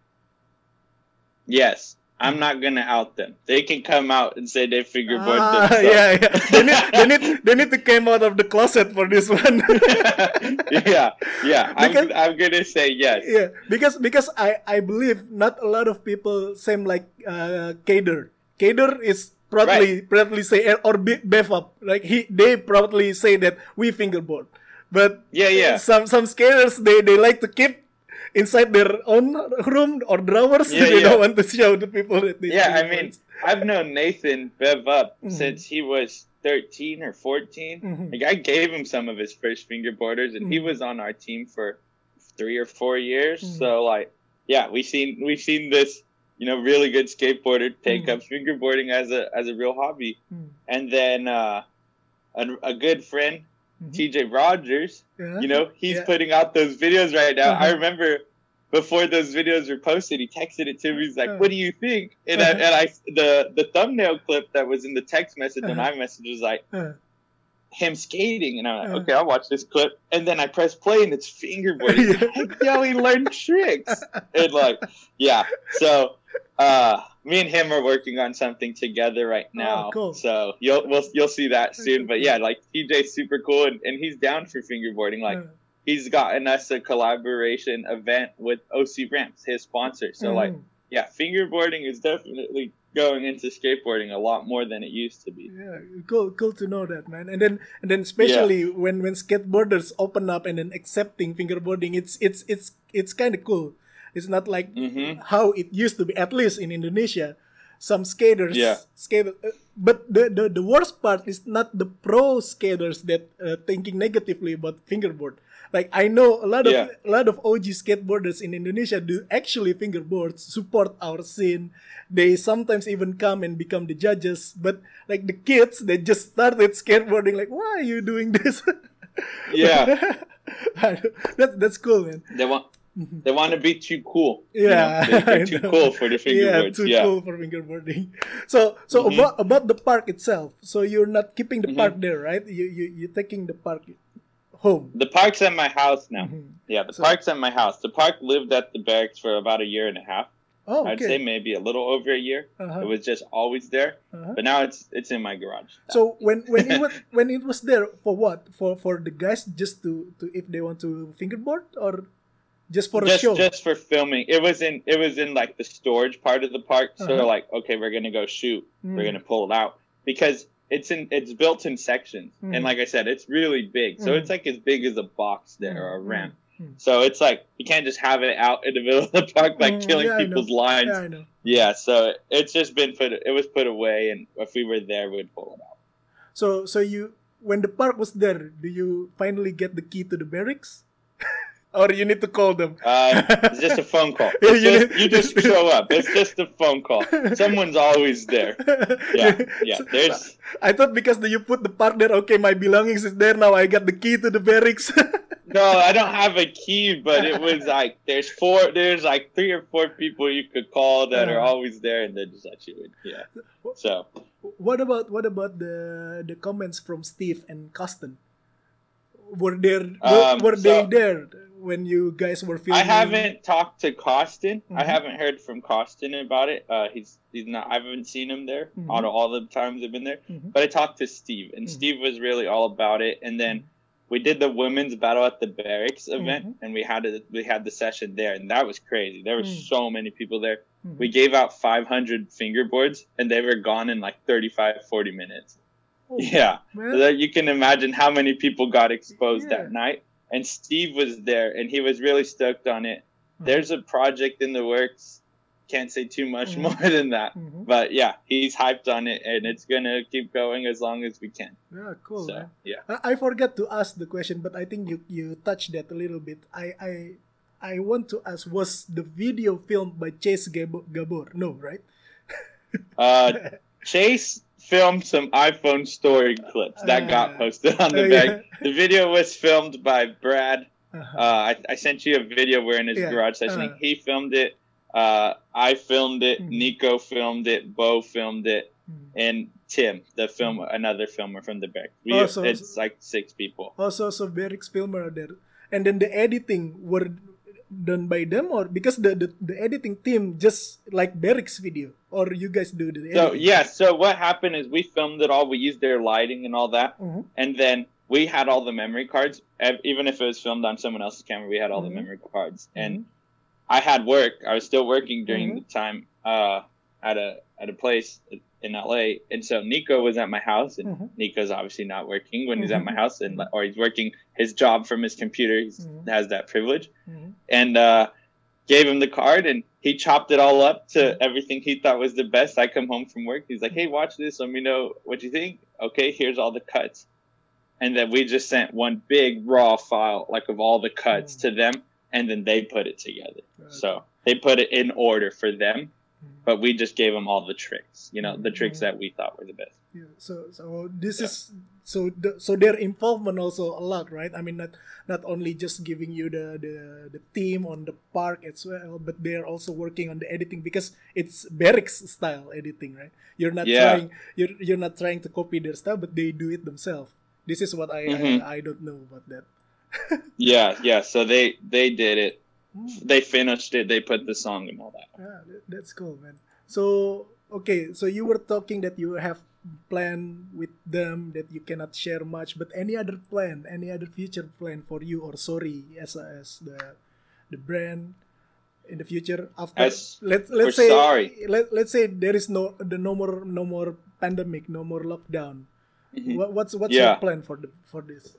Yes. I'm not gonna out them. They can come out and say they fingerboard themselves. They need to come out of the closet for this one. I'm gonna say yes. Yeah, because I believe not a lot of people same like Kader. Kader is proudly say, or Bev up, like they proudly say that we fingerboard. But some skaters they like to keep inside their own room or drawers. They don't want to show the people that they I mean, I've known Nathan Bev up since he was 13 or 14. Like, I gave him some of his first fingerboarders, and he was on our team for 3 or 4 years. So like, we've seen this, you know, really good skateboarder take up fingerboarding as a real hobby. And then a good friend, TJ Rogers, you know, he's putting out those videos right now. I remember before those videos were posted, he texted it to me. He's like, "What do you think?" And the thumbnail clip that was in the text message on iMessage was like him skating, and I'm like, "Okay, I'll watch this clip." And then I press play, and it's fingerboarding. Yo, he learned tricks, and like, so. Me and him are working on something together right now. Oh, cool. So you'll see that soon. But yeah, like TJ's super cool, and he's down for fingerboarding. Like, he's gotten us a collaboration event with OC Ramps, his sponsor. So like, fingerboarding is definitely going into skateboarding a lot more than it used to be. Yeah, cool to know that, man. And then especially when skateboarders open up and then accepting fingerboarding, it's kind of cool. It's not like how it used to be, at least in Indonesia. Some skaters, but the worst part is not the pro skaters that thinking negatively about fingerboard. Like, I know a lot of OG skateboarders in Indonesia do actually fingerboard, support our scene. They sometimes even come and become the judges. But like the kids, they just started skateboarding. Like, why are you doing this? That's cool, man. They want to be too cool. Yeah, you know? They're too cool for the fingerboards. Cool for fingerboarding. So about the park itself. So you're not keeping the park there, right? You're taking the park home. The park's at my house now. Yeah, the park's at my house. The park lived at the barracks for about 1.5 years. Oh, okay. I'd say maybe a little over a year. It was just always there, but now it's in my garage. So when it was there, for what? For the guys just to if they want to fingerboard, or just for a show? Just for filming. It was in like the storage part of the park. So they're like, okay, we're gonna go shoot. We're gonna pull it out because it's built in sections, and like I said, it's really big. So it's like as big as a box there or a ramp. So it's like you can't just have it out in the middle of the park like killing people's lines. Yeah, I know. Yeah, so it's just been put away, and if we were there, we'd pull it out. So you, when the park was there, do you finally get the key to the barracks? Or you need to call them? It's just a phone call. You just show up. It's just a phone call. Someone's always there. Yeah. There's. I thought because you put the park there, okay, my belongings is there now. I got the key to the barracks. No, I don't have a key, but it was like there's like 3 or 4 people you could call that are always there, and they just let you in. Yeah. So. What about the comments from Steve and Costin? Were they there when you guys were filming? I haven't talked to Costin. I haven't heard from Costin about it. He's not. I haven't seen him there all the times I've been there. But I talked to Steve, and Steve was really all about it. And then we did the women's battle at the barracks event, and we had the session there, and that was crazy. There were so many people there. We gave out 500 fingerboards, and they were gone in like 35, 40 minutes. Oh, yeah, so you can imagine how many people got exposed that night. And Steve was there, and he was really stoked on it. There's a project in the works. Can't say too much more than that. But yeah, he's hyped on it, and it's going to keep going as long as we can. Yeah, cool, so, man. Yeah. I forgot to ask the question, but I think you touched that a little bit. I want to ask, was the video filmed by Chase Gabor? No, right? Chase filmed some iPhone story clips that got posted on the bag. The video was filmed by Brad. I sent you a video where in his garage session. He filmed it. I filmed it. Nico filmed it. Bo filmed it. And Tim, another filmer from the back. It's like 6 people. Also, so Beric's filmer are there. And then the editing were done by them, or because the editing team just like Beric's video, or you guys do the editing? So what happened is we filmed it all. We used their lighting and all that, and then we had all the memory cards. Even if it was filmed on someone else's camera, we had all the memory cards. And I had work. I was still working during the time at a place in LA, and so Nico was at my house, and Nico's obviously not working when he's at my house, or he's working his job from his computer. He has that privilege, and gave him the card, and he chopped it all up to everything he thought was the best. I come home from work, he's like, "Hey, watch this. Let me know what you think." Okay, here's all the cuts, and then we just sent one big raw file like of all the cuts to them, and then they put it together. So they put it in order for them. But we just gave them all the tricks, the tricks that we thought were the best. Yeah. So this is so their involvement also a lot, right? I mean, not only just giving you the theme on the park as well, but they're also working on the editing because it's Beric's style editing, right? You're not trying you're not trying to copy their style, but they do it themselves. This is what I don't know about that. Yeah. So they did it. They finished it. They put the song and all that. That's cool, man. So okay, so you were talking that you have plan with them that you cannot share much, but any other future plan for you or Sorry as the brand in the future after let's say there is no more pandemic, no more lockdown. What's your plan for this?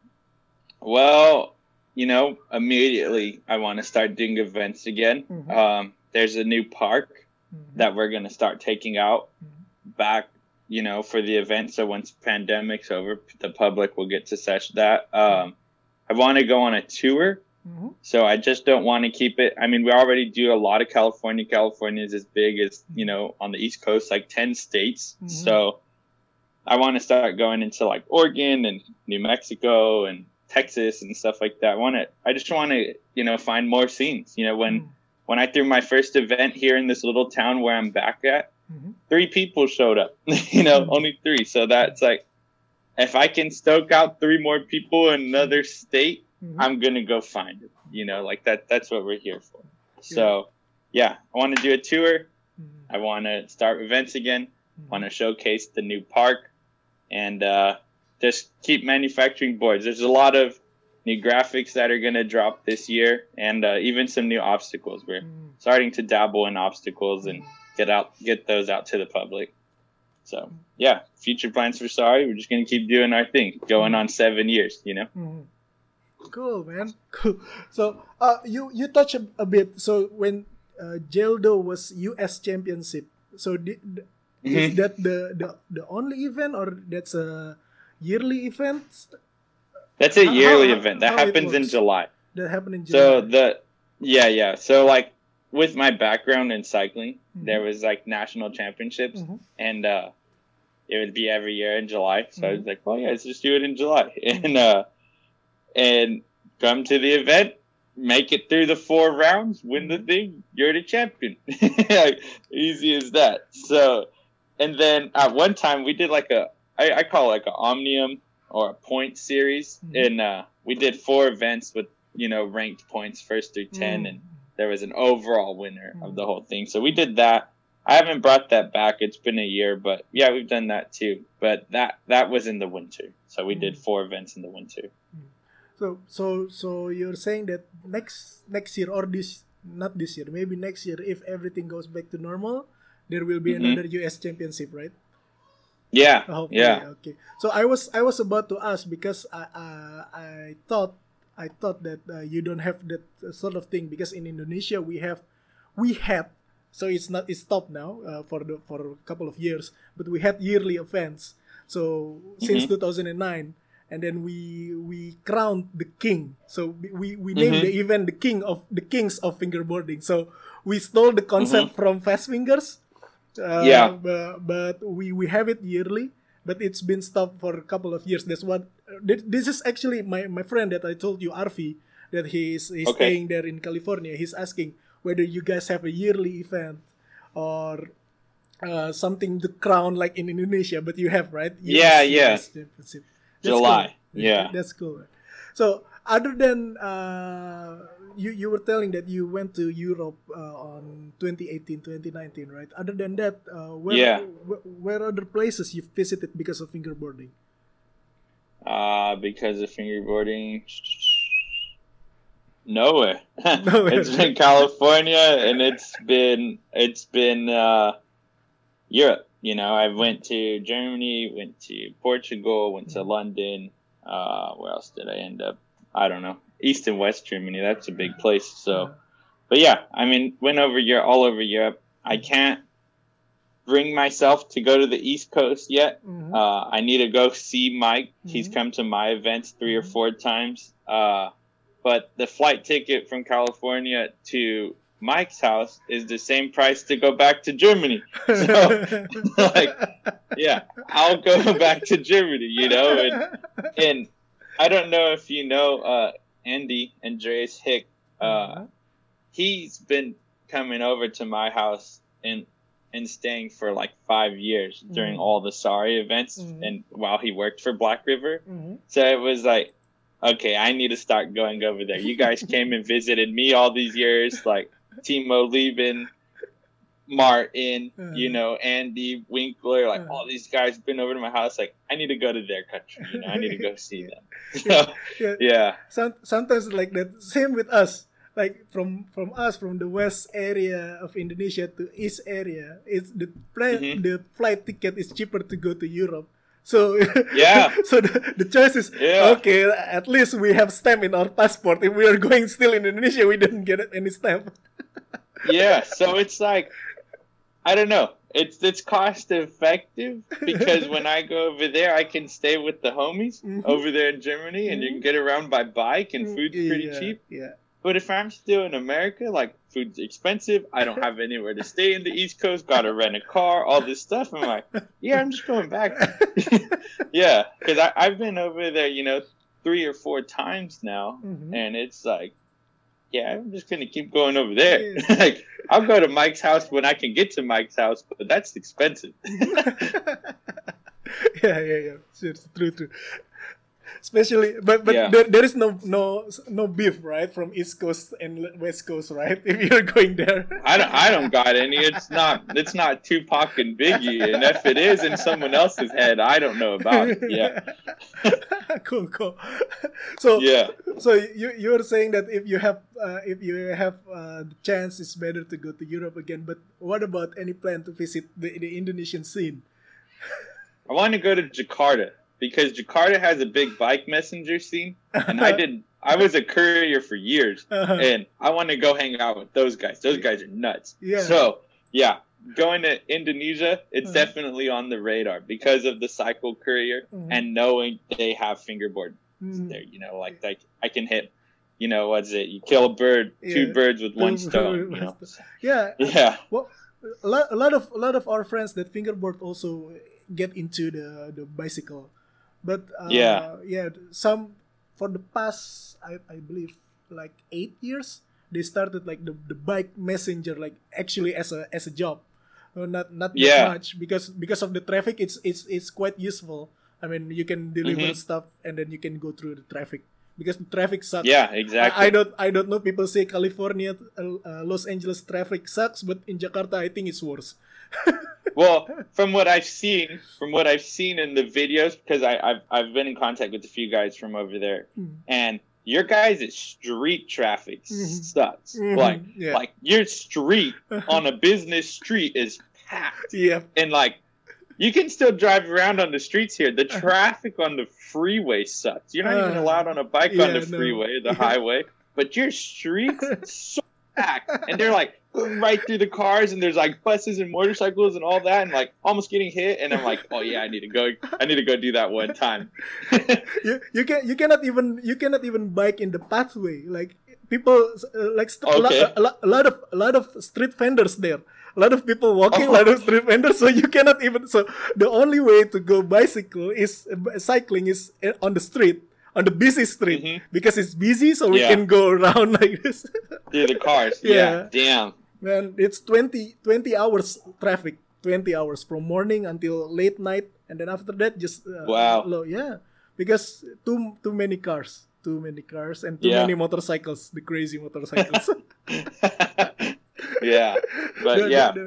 Well, immediately I want to start doing events again. There's a new park that we're going to start taking out back, for the event. So once pandemic's over, the public will get to such that. I want to go on a tour. So I just don't want to keep it. I mean, we already do a lot of California. California is as big as, on the East Coast, like 10 states. So I want to start going into like Oregon and New Mexico and Texas and stuff like that. I just want to, find more scenes. When I threw my first event here in this little town where I'm back at, 3 people showed up, only 3. So that's like, if I can stoke out 3 more people in another state, I'm going to go find it, like that's what we're here for. So I want to do a tour. I want to start events again. Want to showcase the new park and, just keep manufacturing boards. There's a lot of new graphics that are going to drop this year, and even some new obstacles. We're starting to dabble in obstacles and get those out to the public. So future plans for Sorry. We're just going to keep doing our thing, going on 7 years. Cool, man. Cool. So, you touch a bit. So when Geldo was U.S. Championship, so is that the only event, or that's a yearly event? That's a yearly event that happens in July. That happened in July. So So like with my background in cycling, there was like national championships, and it would be every year in July. So I was like, well, yeah, let's just do it in July, and come to the event, make it through the 4 rounds, win the thing, you're the champion. Like, easy as that. So, and then at one time we did like I call it like an omnium or a point series, and we did 4 events with ranked points 1st through 10, and there was an overall winner of the whole thing. So we did that. I haven't brought that back. It's been a year, but yeah, we've done that too. But that was in the winter. So we did 4 events in the winter. So you're saying that next year, or not this year, maybe next year, if everything goes back to normal, there will be another US Championship, right? Yeah. Hopefully, yeah. Okay. So I was about to ask, because I thought that you don't have that sort of thing, because in Indonesia we had, so it's stopped now for a couple of years, but we had yearly events. So since 2009, and then we crowned the king. So we named the event the Kings of Fingerboarding. So we stole the concept from Fast Fingers. But we have it yearly, but it's been stopped for a couple of years. That's what this is actually my friend that I told you, Arfi, that he's staying there in California. He's asking whether you guys have a yearly event or something to crown like in Indonesia, but you have, right? US Championship. July. Cool. Yeah. That's cool. So other than you were telling that you went to Europe on 2018, 2019, right? Other than that, where other places you've visited because of fingerboarding? Because of fingerboarding, nowhere. Nowhere. It's been California, and it's been Europe. I went to Germany, went to Portugal, went to London. Where else did I end up? I don't know. East and West Germany. That's a big place. So, but yeah, I mean, went all over Europe. I can't bring myself to go to the East Coast yet. I need to go see Mike. He's come to my events 3 or 4 times. But the flight ticket from California to Mike's house is the same price to go back to Germany. So, yeah, I'll go back to Germany, and I don't know if you know Andy Andreas Hick. He's been coming over to my house and staying for like 5 years during all the Sari events, and while he worked for Black River. So it was like, okay, I need to start going over there. You guys came and visited me all these years, like Timo Lieben, Martin, Andy Winkler, like all these guys been over to my house. Like, I need to go to their country. I need to go see them. So, yeah. Sometimes like that. Same with us. Like from the west area of Indonesia to east area, it's the flight ticket is cheaper to go to Europe. So yeah. So the choice is okay. At least we have stamp in our passport. If we are going still in Indonesia, we don't get any stamp. Yeah. So it's like, I don't know. It's cost effective, because when I go over there, I can stay with the homies over there in Germany, and you can get around by bike, and food's pretty cheap. Yeah. But if I'm still in America, like, food's expensive, I don't have anywhere to stay in the East Coast, gotta rent a car, all this stuff. I'm like, yeah, I'm just going back. Yeah, because I've been over there, 3 or 4 times now, and it's like, yeah, I'm just gonna keep going over there. Like, I'll go to Mike's house when I can get to Mike's house, but that's expensive. Yeah. True. Especially, but there is no beef, right, from East Coast and West Coast, right? If you're going there, I don't got any. It's not Tupac and Biggie, and if it is in someone else's head, I don't know about it. Yeah. Cool. So you were saying that if you have the chance, it's better to go to Europe again. But what about any plan to visit the Indonesian scene? I want to go to Jakarta, because Jakarta has a big bike messenger scene, and I did I was a courier for years, Uh-huh. and I want to go hang out with those guys. Those guys are nuts. Yeah. So yeah, going to Indonesia, it's Uh-huh. definitely on the radar because of the cycle courier Mhm. and knowing they have fingerboard Mhm. there. You know, like I can hit. You know, what's it? You kill a bird, two Yeah. birds with one Two stone. birds You know. Yeah. Yeah. Well, a lot of our friends that fingerboard also get into the bicycle, but Yeah. some for the past I believe like 8 years they started like the bike messenger like actually as a job. Not that Yeah. much because of the traffic. It's quite useful. I mean, you can deliver Mhm. stuff and then you can go through the traffic because the traffic sucks. Yeah. Exactly. I don't know. People say California, Los Angeles traffic sucks, but in Jakarta, I think it's worse. Well, from what I've seen in the videos, because I've been in contact with a few guys from over there, and your guys' street traffic sucks. Yeah. Like your street on a business street is packed, Yeah, and like you can still drive around on the streets here. The traffic on the freeway sucks. You're not even allowed on a bike on the no. freeway, the highway, but your streets so packed, and they're like right through the cars, and there's like buses and motorcycles and all that, and like almost getting hit. And I'm like, oh yeah, I need to go do that one time. you cannot even bike in the pathway. Like people Okay. a lot of street vendors there. A lot of people walking, a lot of street vendors. So you cannot even. So the only way to go cycling is on the street, on the busy street, because it's busy. So we Yeah. can go around like this. Through the cars. Yeah. Yeah. Damn. Man, it's 20 hours traffic. 20 hours from morning until late night, and then after that just Wow. low. Yeah, because too many cars, and too Yeah. many motorcycles. The crazy motorcycles. Yeah, but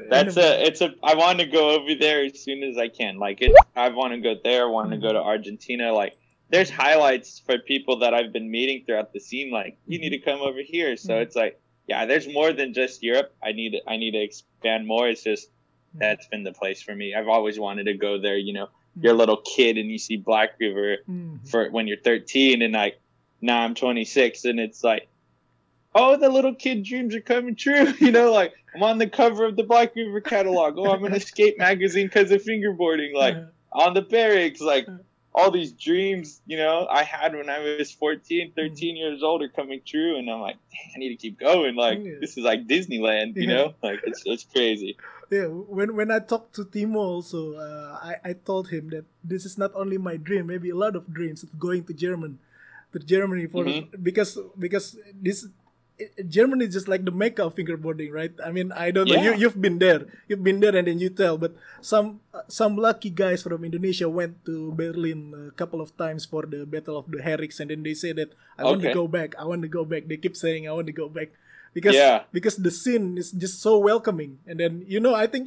I want to go over there as soon as I can. Like I want to go there. I want to go to Argentina. Like there's highlights for people that I've been meeting throughout the scene. Like you need to come over here. So it's like, yeah, there's more than just Europe. I need to expand more. It's just that's been the place for me. I've always wanted to go there. You know, you're a little kid and you see Black River for when you're 13, and like now I'm 26, and it's like, oh, the little kid dreams are coming true. You know, like I'm on the cover of the Black River catalog. Oh, I'm in a skate magazine because of fingerboarding. Like on the barracks, like all these dreams, you know, I had when I was 14, 13 years old are coming true. And I'm like, dang, I need to keep going. Like this is like Disneyland, you know, like it's crazy. Yeah, when I talked to Timo also, I told him that this is not only my dream, maybe a lot of dreams of going to Germany for because this. Germany is just like the mecca of fingerboarding, right? I mean, I don't know. Yeah. You've been there, and then you tell. But some lucky guys from Indonesia went to Berlin a couple of times for the Battle of the Herriks, and then they say that I want to go back. I want to go back. They keep saying I want to go back because the scene is just so welcoming. And then I think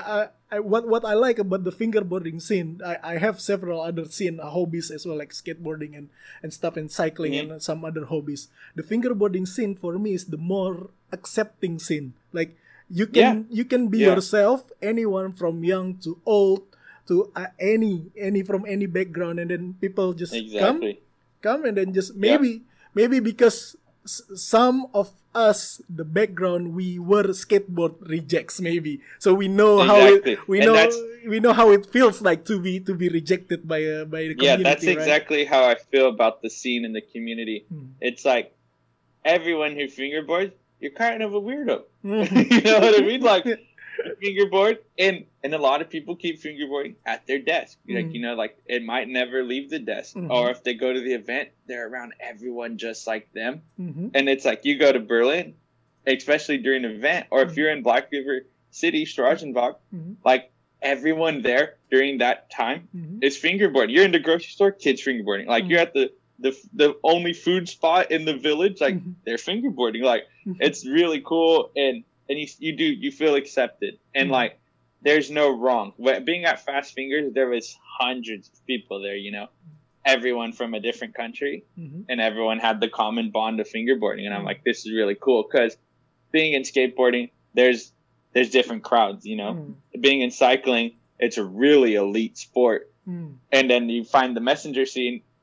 what I like about the fingerboarding scene, I have several other hobbies as well, like skateboarding and stuff, and cycling and some other hobbies. The fingerboarding scene for me is the more accepting scene. Like you can be yourself, anyone from young to old, to any from any background, and then people just come and then just maybe because some of us, the background, we were skateboard rejects, maybe, so we know we know how it feels like to be rejected by the community. Yeah, that's right? exactly how I feel about the scene in the community. It's like everyone who fingerboards, you're kind of a weirdo. You know what I mean? Like fingerboard, and a lot of people keep fingerboarding at their desk. Like like it might never leave the desk, or if they go to the event, they're around everyone just like them. And it's like you go to Berlin, especially during an event, or if you're in Black River City, Strassenbach, like everyone there during that time is fingerboarding. You're in the grocery store, kids fingerboarding. Like you're at the only food spot in the village, like they're fingerboarding. Like it's really cool, and you feel accepted, and like there's no wrong. Being at Fast Fingers, there was hundreds of people there, everyone from a different country, and everyone had the common bond of fingerboarding. And I'm like, this is really cool, because being in skateboarding, there's different crowds, Being in cycling, it's a really elite sport. And then you find the messenger scene,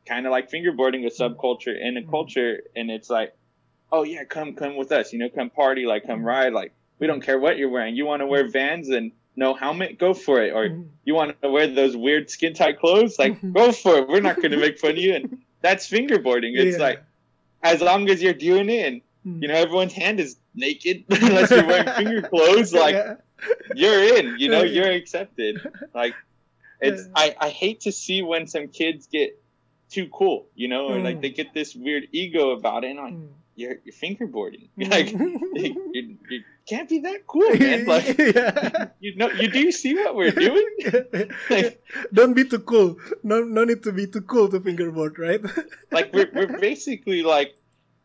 kind of like fingerboarding, a subculture in a culture, and it's like, oh yeah, come with us, come party, like come ride, like we don't care what you're wearing. You want to wear Vans and no helmet, go for it. Or you want to wear those weird skin tight clothes, like go for it. We're not going to make fun of you. And that's fingerboarding. It's like, as long as you're doing it, and everyone's hand is naked, unless you're wearing finger clothes, like you're in. You're accepted. Like it's I hate to see when some kids get too cool, or like they get this weird ego about it, and I'm like, you're fingerboarding, like you can't be that cool, man. Like you do see what we're doing. Like, don't be too cool. No need to be too cool to fingerboard, right? Like we're basically like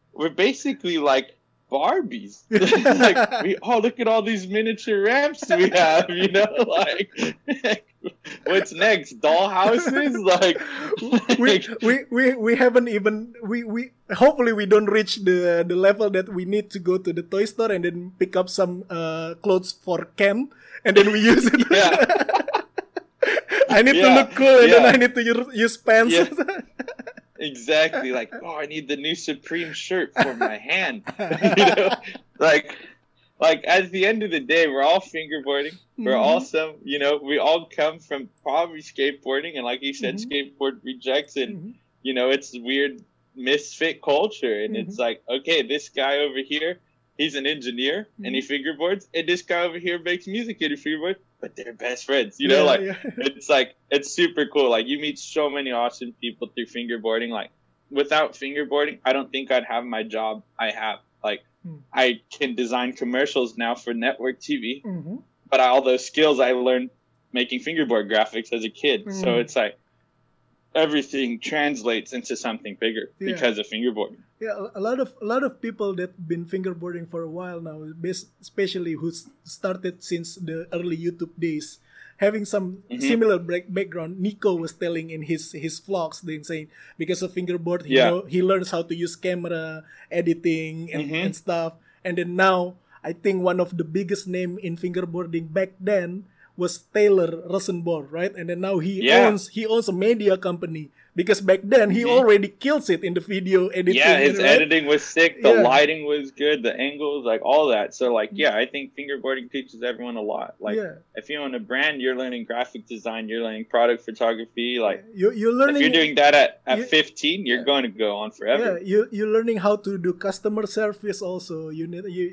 Barbies. Like look at all these miniature ramps we have, like what's next? Dollhouses? Like we haven't even we hopefully we don't reach the level that we need to go to the toy store and then pick up some clothes for Ken and then we use it. I need to look cool and then I need to use pants. Exactly. Like, I need the new Supreme shirt for my hand. Like at the end of the day, we're all fingerboarding. We're all we all come from probably skateboarding, and like you said, skateboard rejects, and it's weird misfit culture, and it's like, okay, this guy over here, he's an engineer and he fingerboards, and this guy over here makes music and he fingerboards, but they're best friends. It's like, it's super cool. Like you meet so many awesome people through fingerboarding. Like without fingerboarding, I don't think I'd have my job I have. Like I can design commercials now for network TV, but all those skills I learned making fingerboard graphics as a kid. So it's like everything translates into something bigger because of fingerboarding. Yeah, a lot of people that been fingerboarding for a while now, especially who started since the early YouTube days, having some similar background. Nico was telling in his vlogs, then saying because of fingerboard, he learns how to use camera, editing, and stuff. And then now, I think one of the biggest name in fingerboarding back then was Taylor Rosenborg, right? And then now he owns a media company, because back then he already kills it in the video editing. Yeah, his editing was sick. The lighting was good. The angles, like all that. So like, I think fingerboarding teaches everyone a lot. Like if you own a brand, you're learning graphic design, you're learning product photography. Like you're learning. If you're doing that at 15, you're going to go on forever. Yeah, you're learning how to do customer service also. You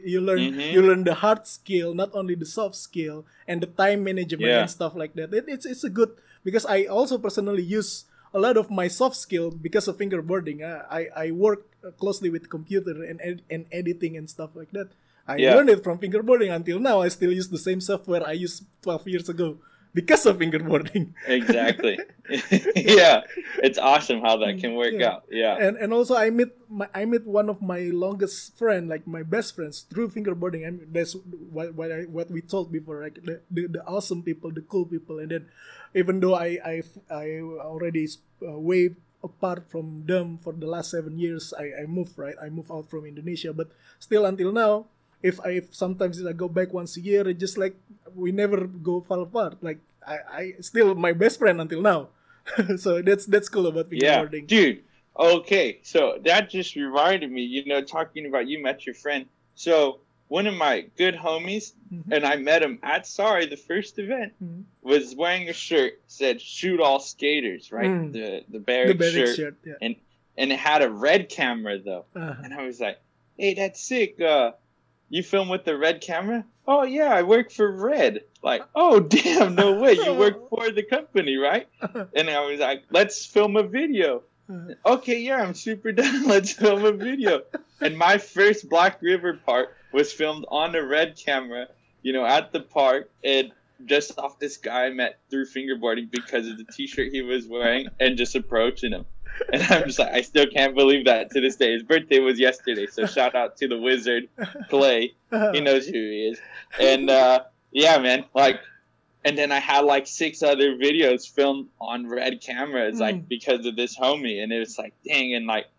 learn the hard skill, not only the soft skill, and the time management and stuff like that. It's a good, because I also personally use a lot of my soft skill because of fingerboarding. I work closely with computer and editing and stuff like that. I learned it from fingerboarding. Until now, I still use the same software I used 12 years ago because of fingerboarding. Exactly. Yeah, it's awesome how that can work out. Yeah. And also I met one of my longest friend, like my best friends, through fingerboarding. I mean, that's what we told before, like the awesome people, the cool people. And then even though I already way apart from them for the last 7 years, I moved out from Indonesia, but still until now, if sometimes I go back once a year, it's just like we never go far apart. Like I still my best friend until now. So that's cool about fingerboarding. Yeah, dude. Okay, so that just reminded me, talking about you met your friend. So one of my good homies, and I met him at Sorry, the first event, was wearing a shirt said "Shoot All Skaters," right? The Barrick shirt. Yeah. And it had a red camera though. And I was like, hey, that's sick. You film with the red camera? Oh yeah, I work for Red. Like, oh damn, no way, you work for the company, right? And I was like, let's film a video. Okay, yeah, I'm super down. Let's film a video. And my first Black River part was filmed on a Red camera, at the park, and just off this guy I met through fingerboarding because of the t-shirt he was wearing and just approaching him. And I'm just like, I still can't believe that to this day. His birthday was yesterday, so shout out to the wizard, Clay. He knows who he is. And yeah, man, like, and then I had like 6 other videos filmed on Red cameras, like because of this homie. And it was like, dang, and like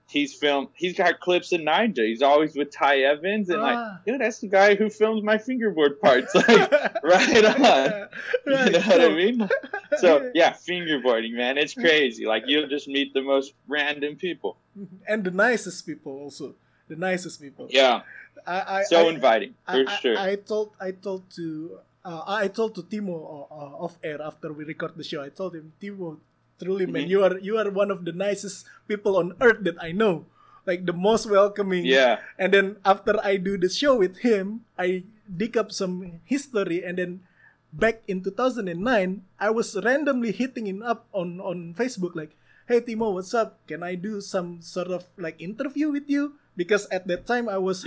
He's got clips of Ninja. He's always with Ty Evans, and dude, that's the guy who films my fingerboard parts. Like, right on. You know what I mean? So yeah, fingerboarding, man, it's crazy. Like, you'll just meet the most random people, and the nicest people also. The nicest people. Yeah. Inviting for sure. I told to Timo off air after we record the show. I told him, Timo, truly, man, you are one of the nicest people on earth that I know. Like, the most welcoming. Yeah. And then after I do the show with him, I dig up some history, and then back in 2009, I was randomly hitting him up on Facebook, like, hey Timo, what's up? Can I do some sort of like interview with you? Because at that time I was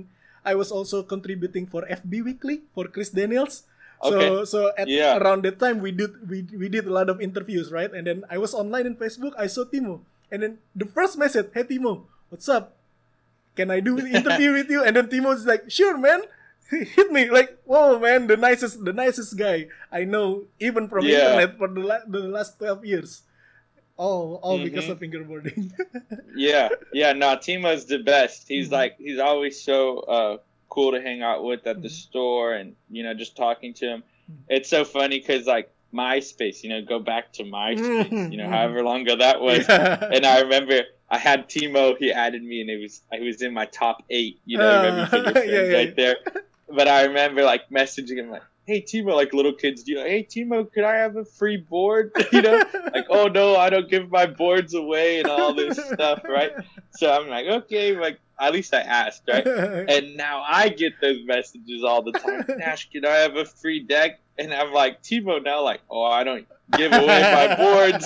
also contributing for FB Weekly for Chris Daniels. Okay. So around that time we did a lot of interviews, right? And then I was online on Facebook. I saw Timo, and then the first message, "Hey Timo, what's up? Can I do an interview with you?" And then Timo was like, "Sure, man." He hit me like, "Whoa, man, the nicest guy I know, even from internet for the last 12 years." All because of fingerboarding. yeah. No, Timo's the best. He's he's always so cool to hang out with at the store, and just talking to him. It's so funny because like MySpace, go back to MySpace, however long ago that was. Yeah. And I remember I had Timo. He added me, and I was in my top 8. Remember your friends right there. But I remember like messaging him like, "Hey Timo," like little kids do. "Hey Timo, could I have a free board?" Like, "Oh no, I don't give my boards away," and all this stuff, right? So I'm like, okay, like at least I asked, right? And now I get those messages all the time. "Nash, can I have a free deck?" And I'm like, Timo now, like, "Oh, I don't give away my boards.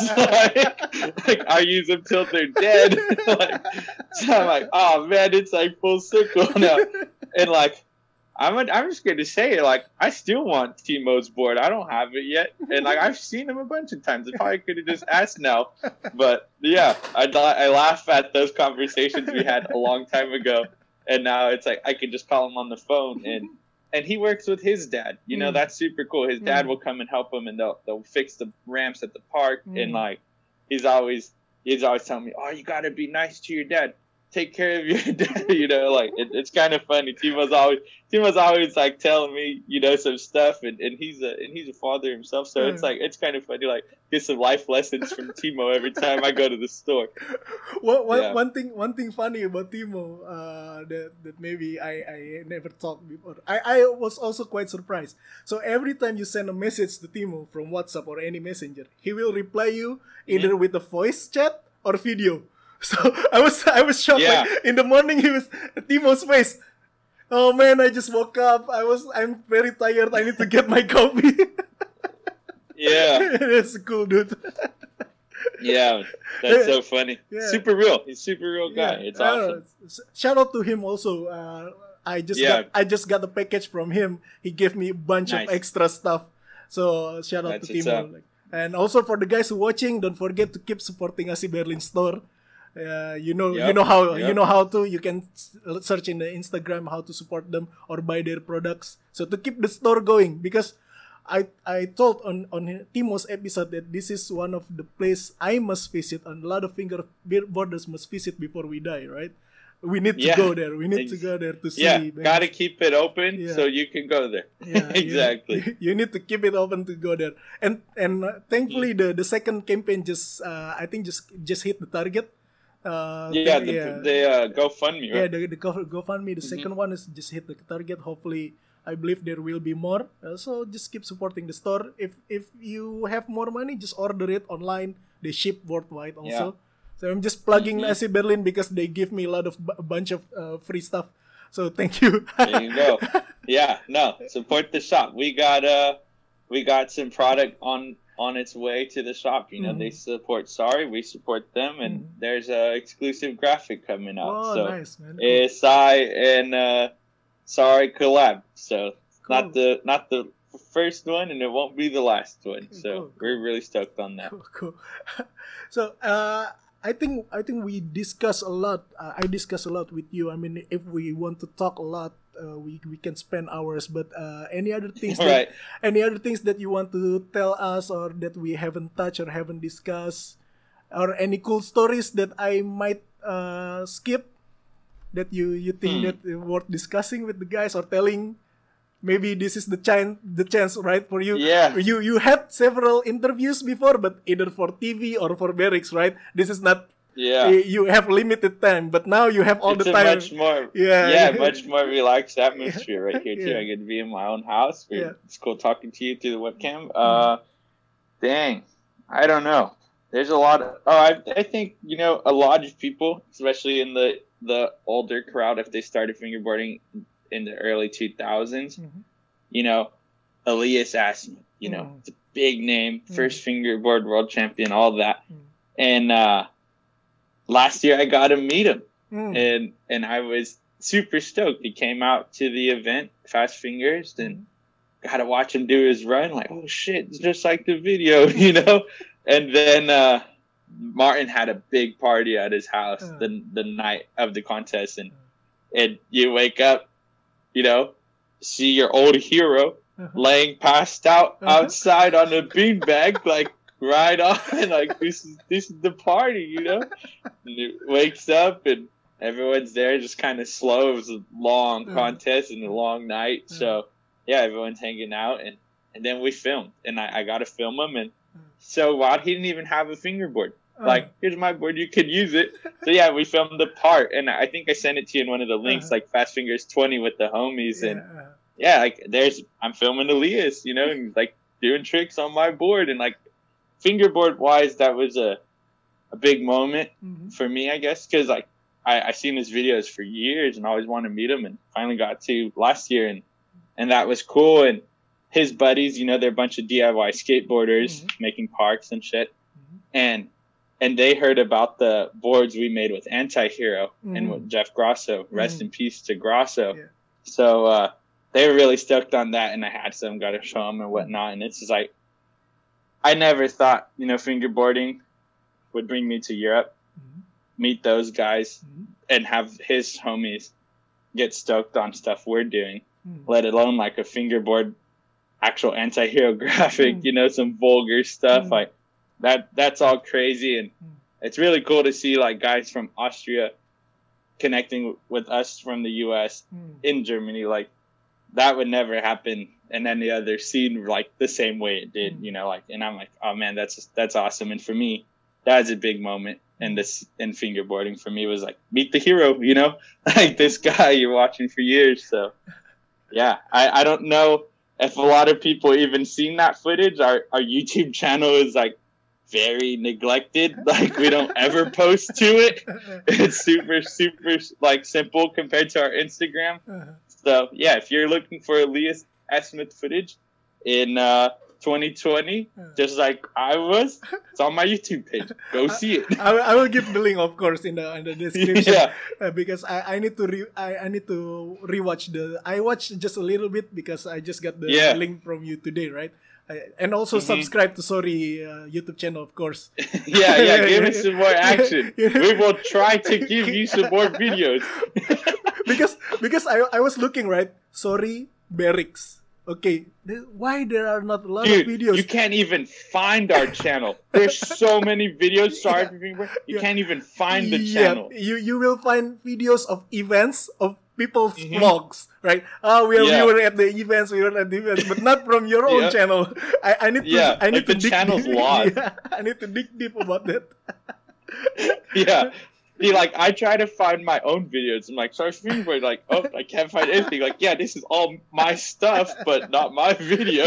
like I use them till they're dead." So I'm like, oh man, it's like full circle now, and like. I'm just going to say, like, I still want Timo's board. I don't have it yet. And, like, I've seen him a bunch of times. I probably could have just asked now. But, yeah, I laugh at those conversations we had a long time ago. And now it's like I could just call him on the phone. And he works with his dad. That's super cool. His dad will come and help him, and they'll fix the ramps at the park. And, like, he's always telling me, "Oh, you got to be nice to your dad. Take care of your dad," like it's kind of funny. Timo's always like telling me, some stuff, and he's a father himself, so it's like it's kind of funny, like get some life lessons from Timo every time I go to the store. One thing funny about Timo that maybe I never talked before. I was also quite surprised. So every time you send a message to Timo from WhatsApp or any messenger, he will reply you either with a voice chat or video. So I was shocked. Yeah. Like in the morning, Timo's face. "Oh man, I just woke up. I'm very tired. I need to get my coffee." Yeah, that's cool, dude. Yeah, that's so funny. Yeah. Super real. He's a super real guy. It's awesome. Shout out to him also. I just got the package from him. He gave me a bunch of extra stuff. So shout out to Timo. And also for the guys who watching, don't forget to keep supporting Asi Berlin store. You know how to. You can search in the Instagram how to support them or buy their products. So to keep the store going, because I told on Timo's episode that this is one of the place I must visit, and a lot of fingerboarders must visit before we die, right? We need to go there. We need to go there to see. Yeah, gotta keep it open so you can go there. Yeah, exactly. You need to keep it open to go there. And thankfully the second campaign just hit the target. The GoFundMe, right? Yeah, the GoFundMe. The second one is just hit the target. Hopefully, I believe there will be more. So just keep supporting the store. If you have more money, just order it online. They ship worldwide also. Yeah. So I'm just plugging Asi Berlin because they give me a bunch of free stuff. So thank you. There you go. Yeah, no, support the shop. We got some product on its way to the shop. They support Sorry, we support them, and there's a exclusive graphic coming out. Oh, so nice, man. Cool. ASI and Sorry collab. So cool. not the first one, and it won't be the last one. So we're really stoked on that. Cool. So I think we discuss a lot. I discuss a lot with you. I mean, if we want to talk a lot, we can spend hours. But any other things that you want to tell us, or that we haven't touched or haven't discussed? or any cool stories that I might skip that you think that worth discussing with the guys or telling? Maybe this is the chance, right, for you. Yeah. You had several interviews before, but either for TV or for Barracks, right? This is not. Yeah. You have limited time, but now you have all It's the a time. much more, much more relaxed atmosphere right here too. Yeah. I get to be in my own house. Yeah. It's cool talking to you through the webcam. Dang, I don't know. There's a lot of. I think a lot of people, especially in the older crowd, if they started fingerboarding in the early 2000s, Elias Asmuth, it's a big name, first fingerboard world champion, all that. And last year I got to meet him, and I was super stoked. He came out to the event, Fast Fingers, and got to watch him do his run. Like, oh shit, it's just like the video, And then Martin had a big party at his house the night of the contest, and you wake up, see your old hero laying passed out outside on a beanbag, like right on, like this is the party, And it wakes up and everyone's there, just kind of slow. It was a long contest and a long night, so yeah, everyone's hanging out, and then we filmed, and I got to film him, and so wild, he didn't even have a fingerboard. Like, here's my board, you could use it. So yeah, we filmed the part, and I think I sent it to you in one of the links, like Fast Fingers 20 with the homies, and yeah, like I'm filming Elias, and like doing tricks on my board, and like fingerboard wise, that was a big moment for me, I guess, because like I seen his videos for years and always wanted to meet him, and finally got to last year, and that was cool. And his buddies, they're a bunch of DIY skateboarders making parks and shit, and they heard about the boards we made with Anti-Hero and with Jeff Grosso. Rest in peace to Grosso. Yeah. So they were really stoked on that, and I had some, got to show them and whatnot. And it's just like, I never thought, fingerboarding would bring me to Europe, meet those guys, and have his homies get stoked on stuff we're doing, let alone like a fingerboard actual Anti-Hero graphic, some vulgar stuff like that's all crazy. And it's really cool to see like guys from Austria connecting with us from the US in Germany. Like that would never happen in any other scene like the same way it did, like, and I'm like, oh man, that's awesome. And for me, that's a big moment. And fingerboarding for me was like, meet the hero, like this guy you're watching for years. So yeah, I don't know if a lot of people even seen that footage. Our YouTube channel is like very neglected. Like we don't ever post to it. It's super like simple compared to our Instagram. So yeah, if you're looking for Elias Asmuth footage in 2020, just like I was, it's on my YouTube page. Go see it. I will give the link, of course, in the description. Because I need to rewatch I watched just a little bit because I just got the link from you today, right? And also subscribe to Sorry YouTube channel, of course. yeah, give us some more action. We will try to give you some more videos. because I was looking, right? Sorry, Barracks. Okay, why there are not a lot of videos? You can't even find our channel. There's so many videos. Sorry for being you can't even find the channel. You will find videos of events of people's vlogs, right? We were at the events, but not from your own channel. I need to dig channel's lost. I need to dig deep about that. See, like, I try to find my own videos. I'm like, sorry, fingerboard, like, oh, I can't find anything. Like, yeah, this is all my stuff, but not my video.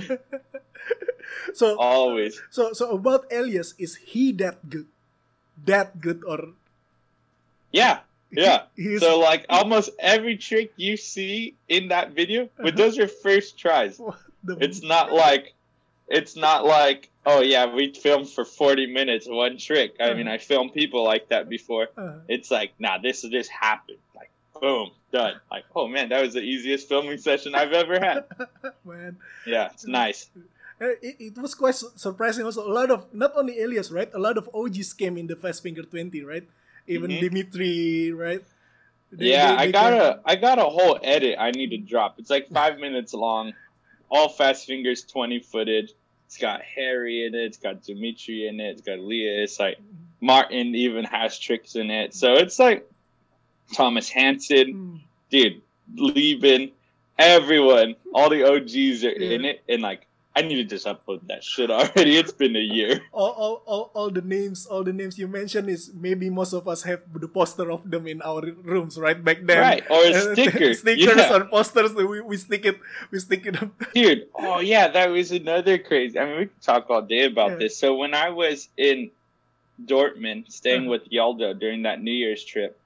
So always. So about Elias, is he that good? That good or? Yeah. So like almost every trick you see in that video, but those are first tries. It's not like, oh yeah, we filmed for 40 minutes one trick. I mean, I filmed people like that before. It's like, nah, this just happened. Like, boom, done. Like, oh man, that was the easiest filming session I've ever had. Man. Yeah, it's nice. It was quite surprising also. A lot of, not only Elias, right? A lot of OGs came in the Fast Finger 20, right? Even Dimitri, right? I got a whole edit I need to drop. It's like 5 minutes long. All Fast Fingers 20 footage. It's got Harry in it. It's got Dimitri in it. It's got Elias. Like, Martin even has tricks in it. So it's like Thomas Hansen, dude, Lieben, everyone, all the OGs are in it, and like I need to just upload that shit already. It's been a year. All the names you mentioned is maybe most of us have the poster of them in our rooms right back then. Right, or a sticker. Stickers or posters. We stick it up. Dude, oh yeah, that was another crazy. I mean, we could talk all day about this. So when I was in Dortmund, staying with Yaldo during that New Year's trip,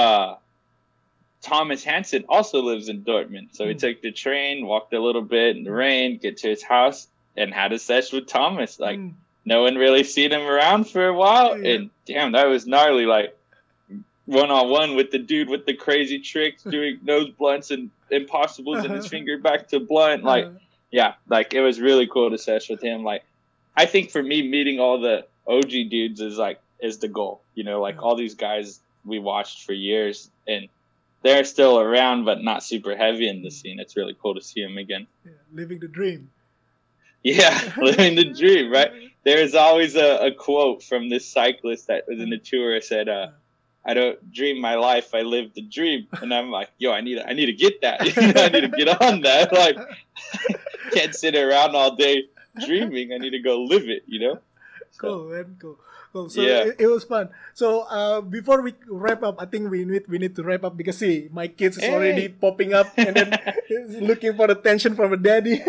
Thomas Hansen also lives in Dortmund. So we took the train, walked a little bit in the rain, get to his house, and had a sesh with Thomas. Like, no one really seen him around for a while. And damn, that was gnarly. Like, one-on-one with the dude with the crazy tricks, doing nose blunts and impossibles in his finger back to blunt. Like, yeah, like, it was really cool to sesh with him. Like, I think for me, meeting all the OG dudes is the goal. You know, like, all these guys we watched for years, and they're still around, but not super heavy in the scene. It's really cool to see them again. Yeah, living the dream. Yeah, living the dream, right? There's always a quote from this cyclist that was in the tour. Said, "I don't dream my life, I live the dream." And I'm like, yo, I need to get that. I need to get on that. Like, can't sit around all day dreaming. I need to go live it. You know? Cool, man. Cool. So it was fun. So before we wrap up, I think we need to wrap up because see, my kids is already popping up and then looking for attention from a daddy.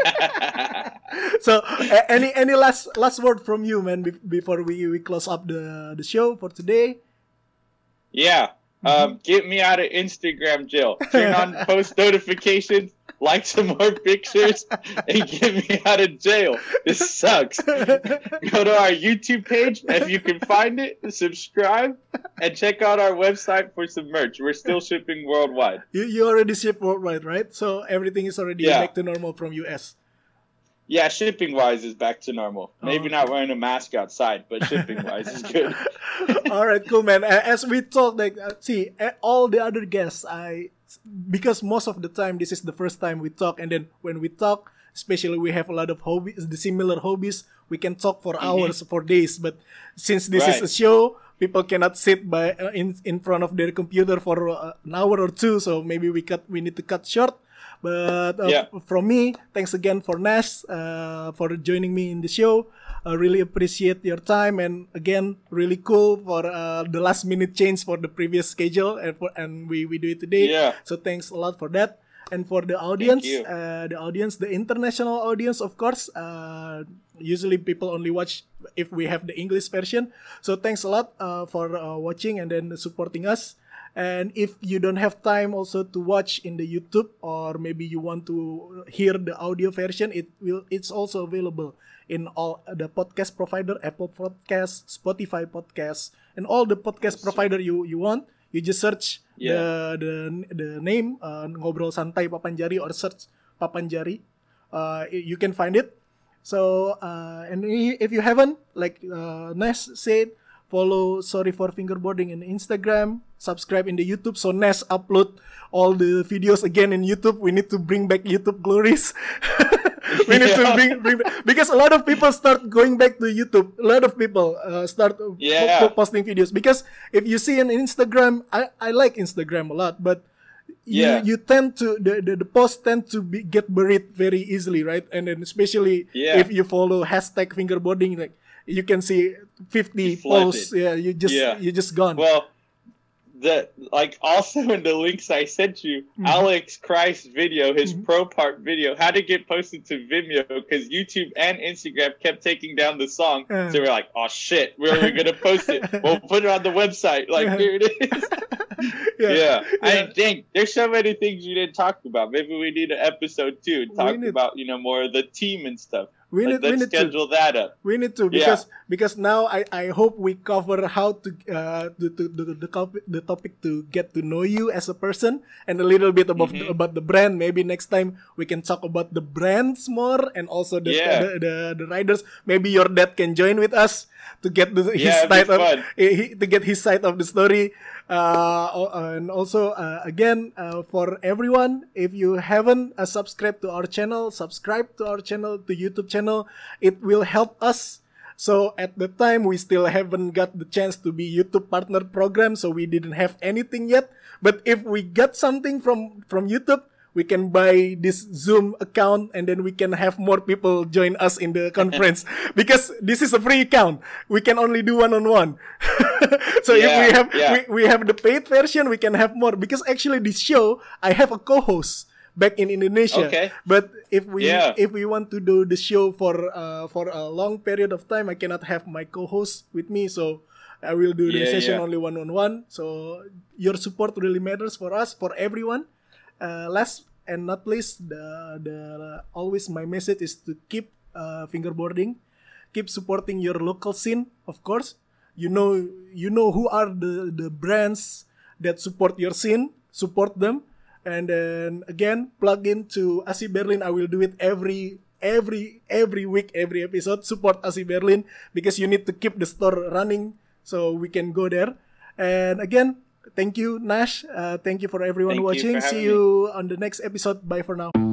So any last word from you, man, before we close up the show for today? Yeah. Get me out of Instagram jail. Turn on post notifications, like some more pictures, and get me out of jail. This sucks. Go to our YouTube page if you can find it, subscribe, and check out our website for some merch. We're still shipping worldwide. You already ship worldwide, right? So everything is already back to normal from US. Yeah, shipping-wise is back to normal. Maybe not wearing a mask outside, but shipping-wise is good. All right, cool, man. As we talk, like, see, all the other guests, because most of the time, this is the first time we talk, and then when we talk, especially we have a lot of hobbies, the similar hobbies, we can talk for hours, for days. But since this is a show, people cannot sit in front of their computer for an hour or two, so maybe we need to cut short. But from me, thanks again for Nash for joining me in the show. I really appreciate your time, and again, really cool for the last minute change for the previous schedule, and we do it today. Yeah. So thanks a lot for that. And for the audience, the international audience, of course, usually people only watch if we have the English version. So thanks a lot for watching and then supporting us. And if you don't have time also to watch in the YouTube, or maybe you want to hear the audio version, it's also available in all the podcast provider, Apple Podcasts, Spotify Podcasts, and all the podcast provider you want. You just search the name Ngobrol Santai Papanjari, or search Papanjari. You can find it. So and if you haven't, like Nes said, follow Sorry for Fingerboarding in Instagram, subscribe in the YouTube. So Nes upload all the videos again in YouTube. We need to bring back YouTube glories. We need to bring because a lot of people start going back to YouTube. A lot of people start posting videos, because if you see on Instagram, I like Instagram a lot, but you tend to the posts tend to get buried very easily, right? And then especially if you follow hashtag fingerboarding, like, you can see 50 posts. Yeah, you just gone. Well, also in the links I sent you, Alex Christ's video, his pro part video, had to get posted to Vimeo because YouTube and Instagram kept taking down the song. So we're like, oh shit, where are we gonna post it? We'll put it on the website. Like, here it is. I think there's so many things you didn't talk about. Maybe we need an episode 2 to talk about more of the team and stuff. Let's schedule that up. We need to because now I hope we cover how to the topic to get to know you as a person, and a little bit about the brand. Maybe next time we can talk about the brands more, and also the riders. Maybe your dad can join with us to get his side of the story. And also again, for everyone, if you haven't subscribed to our channel, subscribe to our channel, to YouTube channel. It will help us So at the time, we still haven't got the chance to be YouTube partner program, so we didn't have anything yet. But if we got something from YouTube, we can buy this Zoom account and then we can have more people join us in the conference because this is a free account. We can only do one-on-one. So if we have the paid version, we can have more because actually this show, I have a co-host back in Indonesia. Okay. But if we want to do the show for a long period of time, I cannot have my co-host with me. So I will do the session only one-on-one. So your support really matters for us, for everyone. Last and not least, the always my message is to keep fingerboarding, keep supporting your local scene. Of course, you know who are the brands that support your scene. Support them, and then again plug into ASI Berlin. I will do it every week, every episode. Support ASI Berlin because you need to keep the store running so we can go there. And again, thank you, Nash. Thank you for everyone watching. See you on the next episode. Bye for now.